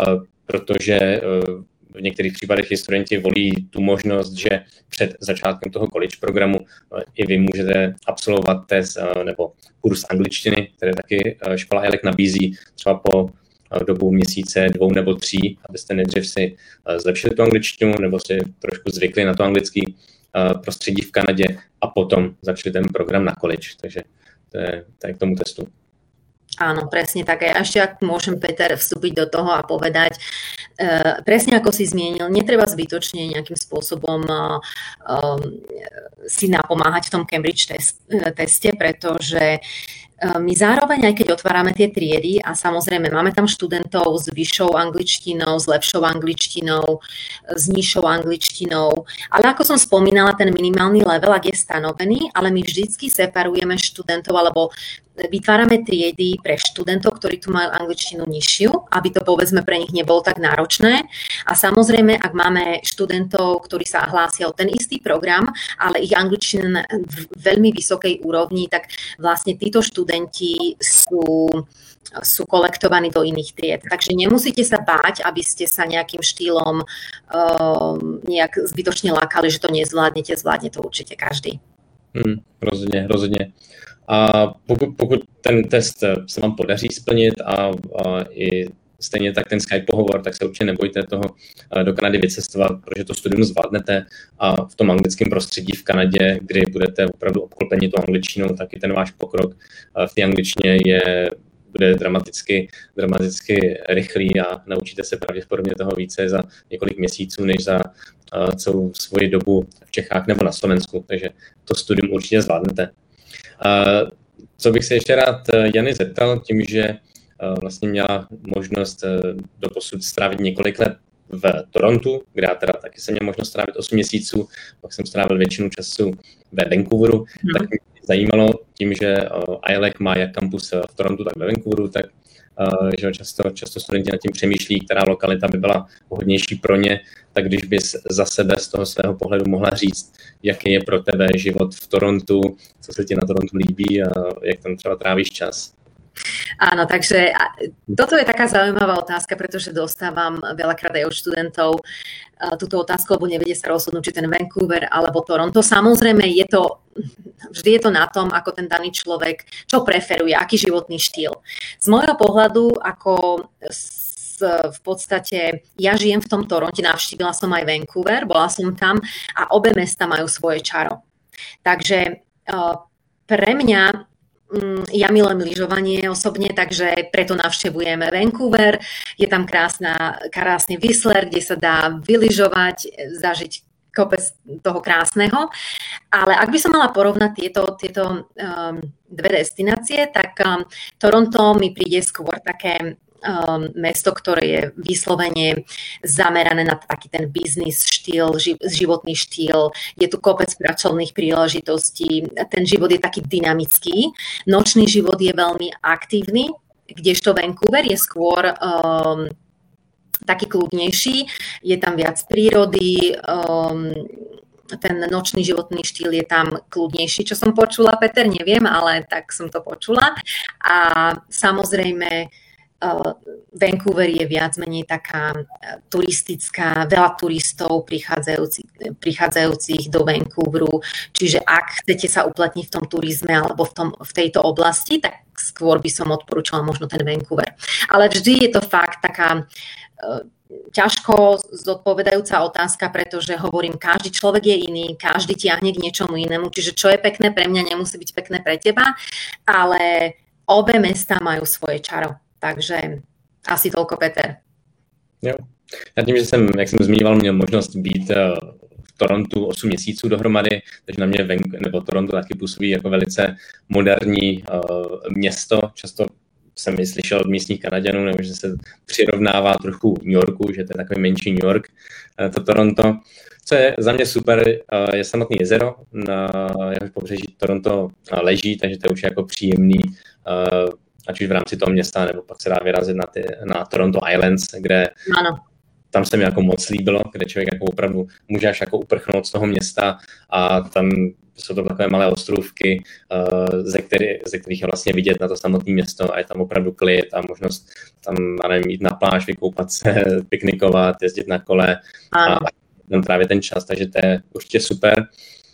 protože v některých případech i studenti volí tu možnost, že před začátkem toho college programu i vy můžete absolvovat test nebo kurz angličtiny, který taky škola I L A C nabízí třeba po dobu měsíce, dvou nebo tří, abyste nejdřív si zlepšili tu angličtinu nebo si trošku zvykli na to anglický prostředí v Kanadě a potom začali ten program na college. Takže to je, to je k tomu testu. Áno, presne tak. A ešte ak môžem, Peter, vstúpiť do toho a povedať, uh, presne ako si zmienil, netreba zbytočne nejakým spôsobom uh, um, si napomáhať v tom Cambridge test, uh, teste, pretože my zároveň, aj keď otvárame tie triedy a samozrejme máme tam študentov s vyššou angličtinou, s lepšou angličtinou, s nižšou angličtinou, ale ako som spomínala, ten minimálny level, ak je stanovený, ale my vždycky separujeme študentov alebo vytvárame triedy pre študentov, ktorí tu majú angličtinu nižšiu, aby to povedzme pre nich nebolo tak náročné. A samozrejme, ak máme študentov, ktorí sa hlásia o ten istý program, ale ich angličtina na veľmi vysokej úrovni, tak vlastne títo študenti sú, sú kolektovaní do iných tried. Takže nemusíte sa báť, aby ste sa nejakým štýlom uh, nejak zbytočne lákali, že to nezvládnete, zvládne to určite každý. Hmm, rozhodně, rozhodně. A pokud, pokud ten test se vám podaří splnit a, a i stejně tak ten Skype pohovor, tak se určitě nebojte toho do Kanady vycestovat, protože to studium zvládnete a v tom anglickém prostředí v Kanadě, kdy budete opravdu obklopeni tou angličtinou, tak i ten váš pokrok v té angličtině je, bude dramaticky, dramaticky rychlý a naučíte se pravděpodobně toho více za několik měsíců, než za celou svoji dobu v Čechách nebo na Slovensku, takže to studium určitě zvládnete. Uh, co bych se ještě rád Jany zeptal, tím, že uh, vlastně měla možnost uh, doposud strávit několik let v Torontu, kde já teda taky jsem měl možnost strávit osm měsíců, pak jsem strávil většinu času ve Vancouveru, hmm. tak mě zajímalo tím, že uh, I L A C má jak kampus v Torontu, tak ve Vancouveru, tak uh, že často, často studenti nad tím přemýšlí, která lokalita by byla vhodnější pro ně, tak když bys za sebe z toho svého pohledu mohla říct, jaký je pro tebe život v Torontu, co se ti na Torontu líbí a jak tam třeba trávíš čas. Áno, takže toto je taká zaujímavá otázka, pretože dostávam veľakrát aj od študentov túto otázku, lebo nevedia sa rozhodnúť, či ten Vancouver alebo Toronto. Samozrejme, je to, vždy je to na tom, ako ten daný človek, čo preferuje, aký životný štýl. Z môjho pohľadu, ako v podstate, ja žijem v tom Toronte, navštívila som aj Vancouver, bola som tam a obe mesta majú svoje čaro. Takže pre mňa, ja milujem lyžovanie osobne, takže preto navštevujeme Vancouver. Je tam krásna, krásny Whistler, kde sa dá vylyžovať, zažiť kopec toho krásneho. Ale ak by som mala porovnať tieto, tieto um, dve destinácie, tak um, Toronto mi príde skôr také Um, mesto, ktoré je vyslovene zamerané na taký ten biznis štýl, ži- životný štýl. Je tu kopec pracovných príležitostí, ten život je taký dynamický. Nočný život je veľmi aktívny, kdežto Vancouver je skôr um, taký kľudnejší, je tam viac prírody, um, ten nočný životný štýl je tam kľudnejší, čo som počula, Peter, neviem, ale tak som to počula. A samozrejme Uh, Vancouver je viac menej taká uh, turistická, veľa turistov prichádzajúcich, prichádzajúcich do Vancouveru, čiže ak chcete sa uplatniť v tom turizme alebo v, tom, v tejto oblasti, tak skôr by som odporúčala možno ten Vancouver. Ale vždy je to fakt taká uh, ťažko zodpovedajúca otázka, pretože hovorím, každý človek je iný, každý tiahne k niečomu inému, čiže čo je pekné pre mňa, nemusí byť pekné pre teba, ale obe mesta majú svoje čaro. Takže asi toľko, Peter. Jo. Já tím, že jsem, jak jsem zmiňoval, měl možnost být v Torontu osm měsíců dohromady, takže na mě venku, nebo Toronto taky působí jako velice moderní uh, město. Často jsem i slyšel od místních Kanaďanů, nebo že se přirovnává trochu New Yorku, že to je takový menší New York, uh, to Toronto. Co je za mě super, uh, je samotné jezero, na jehož pobřeží Toronto leží, takže to je už jako příjemný, uh, ať už v rámci toho města, nebo pak se dá vyrazit na, ty, na Toronto Islands, kde ano. Tam se mi jako moc líbilo, kde člověk jako opravdu může až jako uprchnout z toho města a tam jsou to takové malé ostrůvky, ze, který, ze kterých je vlastně vidět na to samotné město a je tam opravdu klid a možnost tam, nevím, jít na pláž, vykoupat se, piknikovat, jezdit na kole ano. a tam trávit ten čas, takže to je určitě super.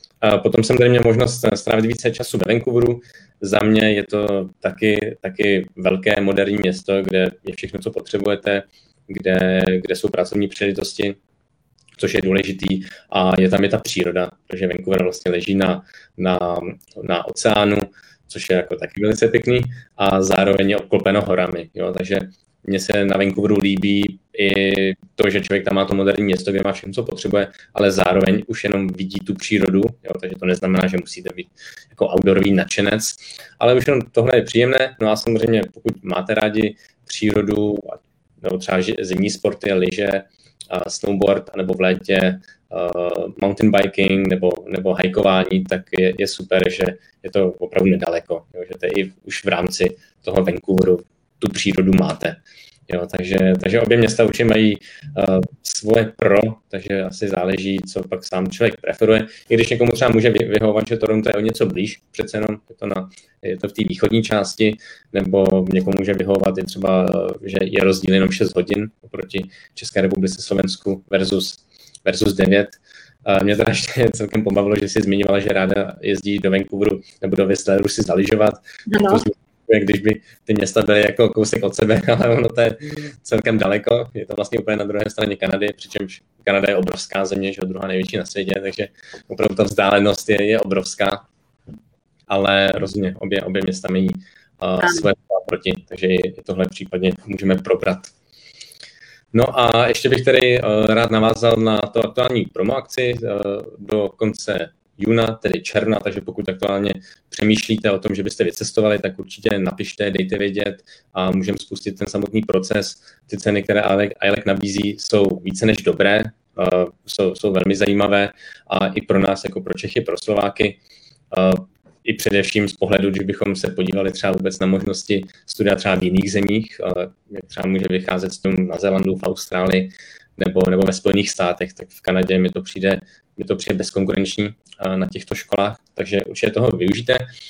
A potom jsem tady měl možnost strávit více času ve Vancouveru. Za mě je to taky, taky velké moderní město, kde je všechno, co potřebujete, kde, kde jsou pracovní příležitosti, což je důležitý. A je tam je ta příroda, protože Vancouver vlastně leží na, na, na oceánu, což je jako taky velice pěkný a zároveň je obklopeno horami. Jo? Takže mně se na Vancouveru líbí i to, že člověk tam má to moderní město, kde má všechno, co potřebuje, ale zároveň už jenom vidí tu přírodu, jo, takže to neznamená, že musíte být jako outdoorový nadšenec, ale už jenom tohle je příjemné. No a samozřejmě, pokud máte rádi přírodu, nebo třeba zimní sporty, lyže, snowboard, nebo v létě uh, mountain biking nebo, nebo hajkování, tak je, je super, že je to opravdu nedaleko, jo, že to je i už v rámci toho Vancouveru tu přírodu máte. Jo, takže, takže obě města určitě mají uh, svoje pro, takže asi záleží, co pak sám člověk preferuje. I když někomu třeba může vyhovovat, že Toronto je o něco blíž, přece jenom je to, na, je to v té východní části, nebo někomu může vyhovovat je třeba, že je rozdíl jenom šest hodin oproti České republice, Slovensku versus, versus devět. Uh, mě teda ještě celkem pobavilo, že jsi zmiňovala, že ráda jezdí do Vancouveru nebo do Whistleru si zalyžovat. No. Když by ty města byly jako kousek od sebe, ale ono to je celkem daleko. Je to vlastně úplně na druhé straně Kanady, přičemž Kanada je obrovská země, že je druhá největší na světě, takže opravdu ta vzdálenost je, je obrovská. Ale rozhodně obě, obě města mají uh, své proti, takže i tohle případně můžeme probrat. No a ještě bych tady uh, rád navázal na to aktuální promo akci uh, do konce júna, tedy června, takže pokud aktuálně přemýšlíte o tom, že byste vycestovali, tak určitě napište, dejte vědět a můžeme spustit ten samotný proces. Ty ceny, které I L E C nabízí, jsou více než dobré, uh, jsou, jsou velmi zajímavé a i pro nás, jako pro Čechy, pro Slováky, uh, i především z pohledu, když bychom se podívali třeba vůbec na možnosti studia třeba v jiných zemích, uh, jak třeba může vycházet s tím na Zélandu, v Austrálii, nebo, nebo ve Spojených státech, tak v Kanadě mi to přijde, mi to přijde bezkonkurenční na těchto školách, takže určitě toho využijte.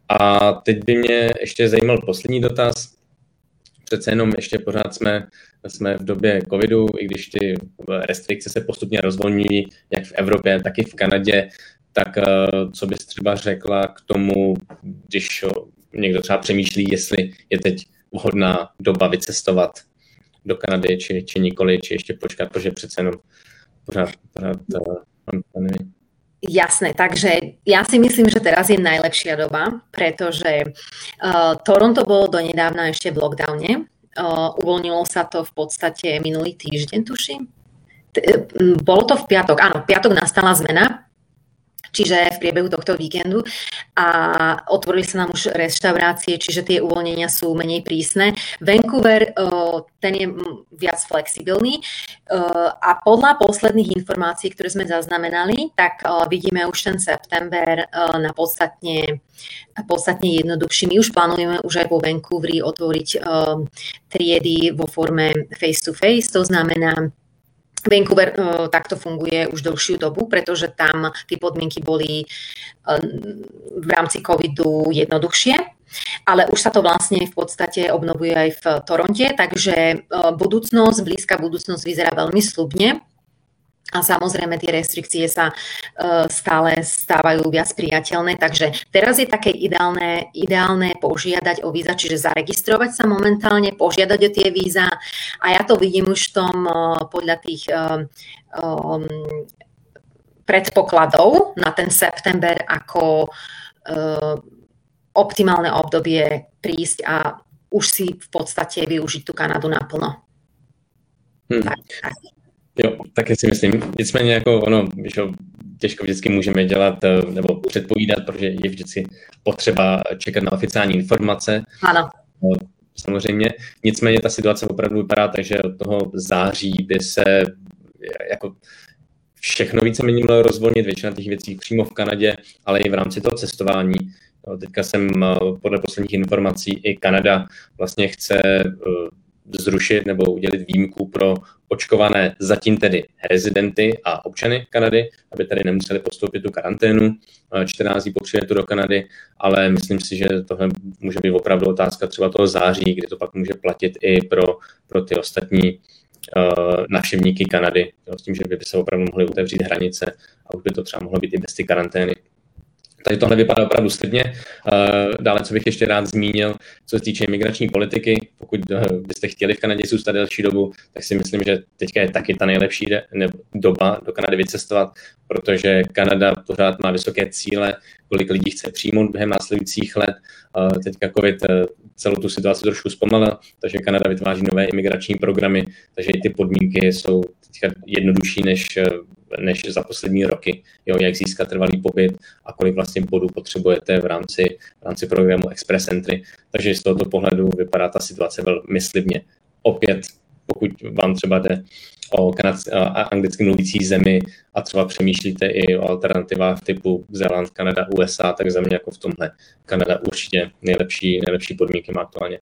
A teď by mě ještě zajímal poslední dotaz. Přece jenom ještě pořád jsme, jsme v době covidu, i když ty restrikce se postupně rozvolňují, jak v Evropě, tak i v Kanadě, tak co bys třeba řekla k tomu, když někdo třeba přemýšlí, jestli je teď vhodná doba vycestovat do Kanady, či, či nikoli, či ještě počkat, protože přece jenom pořád, pořád uh, Jasné, takže ja si myslím, že teraz je najlepšia doba, pretože uh, Toronto bolo donedávna ešte v lockdowne. Uh, uvoľnilo sa to v podstate minulý týždeň, tuším. T- bolo to v piatok, áno, v piatok nastala zmena, čiže v priebehu tohto víkendu a otvorili sa nám už reštaurácie, čiže tie uvoľnenia sú menej prísne. Vancouver, ten je viac flexibilný a podľa posledných informácií, ktoré sme zaznamenali, tak vidíme už ten september na podstatne, podstatne jednoduchší. My už plánujeme už aj vo Vancouveri otvoriť triedy vo forme face-to-face, to znamená, Vancouver uh, takto funguje už dlhšiu dobu, pretože tam tie podmienky boli uh, v rámci covidu jednoduchšie, ale už sa to vlastne v podstate obnovuje aj v Toronte, takže uh, budúcnosť, blízka budúcnosť vyzerá veľmi sľubne a samozrejme tie restrikcie sa uh, stále stávajú viac priateľné, takže teraz je také ideálne, ideálne požiadať o víza, čiže zaregistrovať sa momentálne, požiadať o tie víza a ja to vidím už v tom uh, podľa tých uh, um, predpokladov na ten september ako uh, optimálne obdobie prísť a už si v podstate využiť tú Kanadu naplno. Hmm. Tak, tak. Jo, taky si myslím. Nicméně jako ono, že těžko vždycky můžeme dělat nebo předpovídat, protože je vždycky potřeba čekat na oficiální informace. Ano. Samozřejmě. Nicméně ta situace opravdu vypadá tak, že od toho září by se jako všechno víceméně mělo rozvolnit, většina těch věcí přímo v Kanadě, ale i v rámci toho cestování. Teďka jsem podle posledních informací i Kanada vlastně chce zrušit nebo udělit výjimku pro očkované zatím tedy rezidenty a občany Kanady, aby tady nemuseli podstoupit tu karanténu čtrnáct dní po příletu do Kanady, ale myslím si, že tohle může být opravdu otázka třeba toho září, kdy to pak může platit i pro, pro ty ostatní uh, návštěvníky Kanady, s tím, že by se opravdu mohly otevřít hranice a už by to třeba mohlo být i bez ty karantény. Takže tohle vypadá opravdu slibně. Dále, co bych ještě rád zmínil, co se týče imigrační politiky, pokud byste chtěli v Kanadě zůstat delší dobu, tak si myslím, že teďka je taky ta nejlepší doba do Kanady vycestovat, protože Kanada pořád má vysoké cíle, kolik lidí chce přijmout během následujících let. Teďka COVID celou tu situaci trošku zpomalil, takže Kanada vytváří nové imigrační programy, takže i ty podmínky jsou teďka jednodušší než než za poslední roky, jo, jak získat trvalý pobyt a kolik vlastně bodů potřebujete v rámci, v rámci programu Express Entry. Takže z tohoto pohledu vypadá ta situace velmi slibně. Opět, pokud vám třeba jde o kanad- a anglicky mluvící zemi a třeba přemýšlíte i o alternativách typu Zéland, Kanada, U S A, tak za mě jako v tomhle Kanada určitě nejlepší, nejlepší podmínky má aktuálně.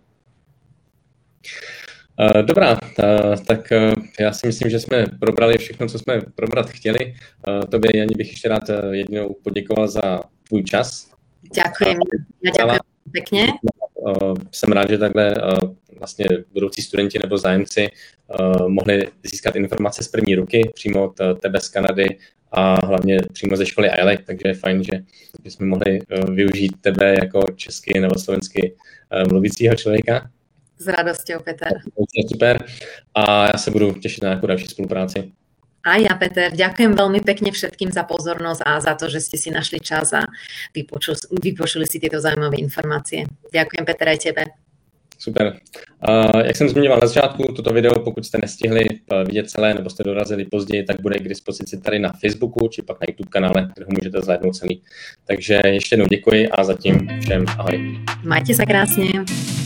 Dobrá, tak já si myslím, že jsme probrali všechno, co jsme probrat chtěli. Tobě, Jani, bych ještě rád jednou poděkoval za tvůj čas. Ďakujem, ja ďakujem pekne. Jsem rád, že takhle vlastně budoucí studenti nebo zájemci mohli získat informace z první ruky přímo od tebe z Kanady a hlavně přímo ze školy I L A C, takže je fajn, že, že jsme mohli využít tebe jako česky nebo slovensky mluvícího člověka. S radosťou, Peter. Super. A ja sa budu tešiť na nejakú ďalšiu spolupráci. A ja, Peter, ďakujem veľmi pekne všetkým za pozornosť a za to, že ste si našli čas a vypočuli, vypočuli si tieto zaujímavé informácie. Ďakujem, Peter, aj tebe. Super. Uh, jak jsem zmiňoval na začátku, toto video, pokud jste nestihli vidět celé nebo jste dorazili později, tak bude k dispozici tady na Facebooku či pak na YouTube kanále, kde ho můžete zhlédnout celý. Takže ještě jednou děkuji a zatím všem ahoj. Majte sa krásne.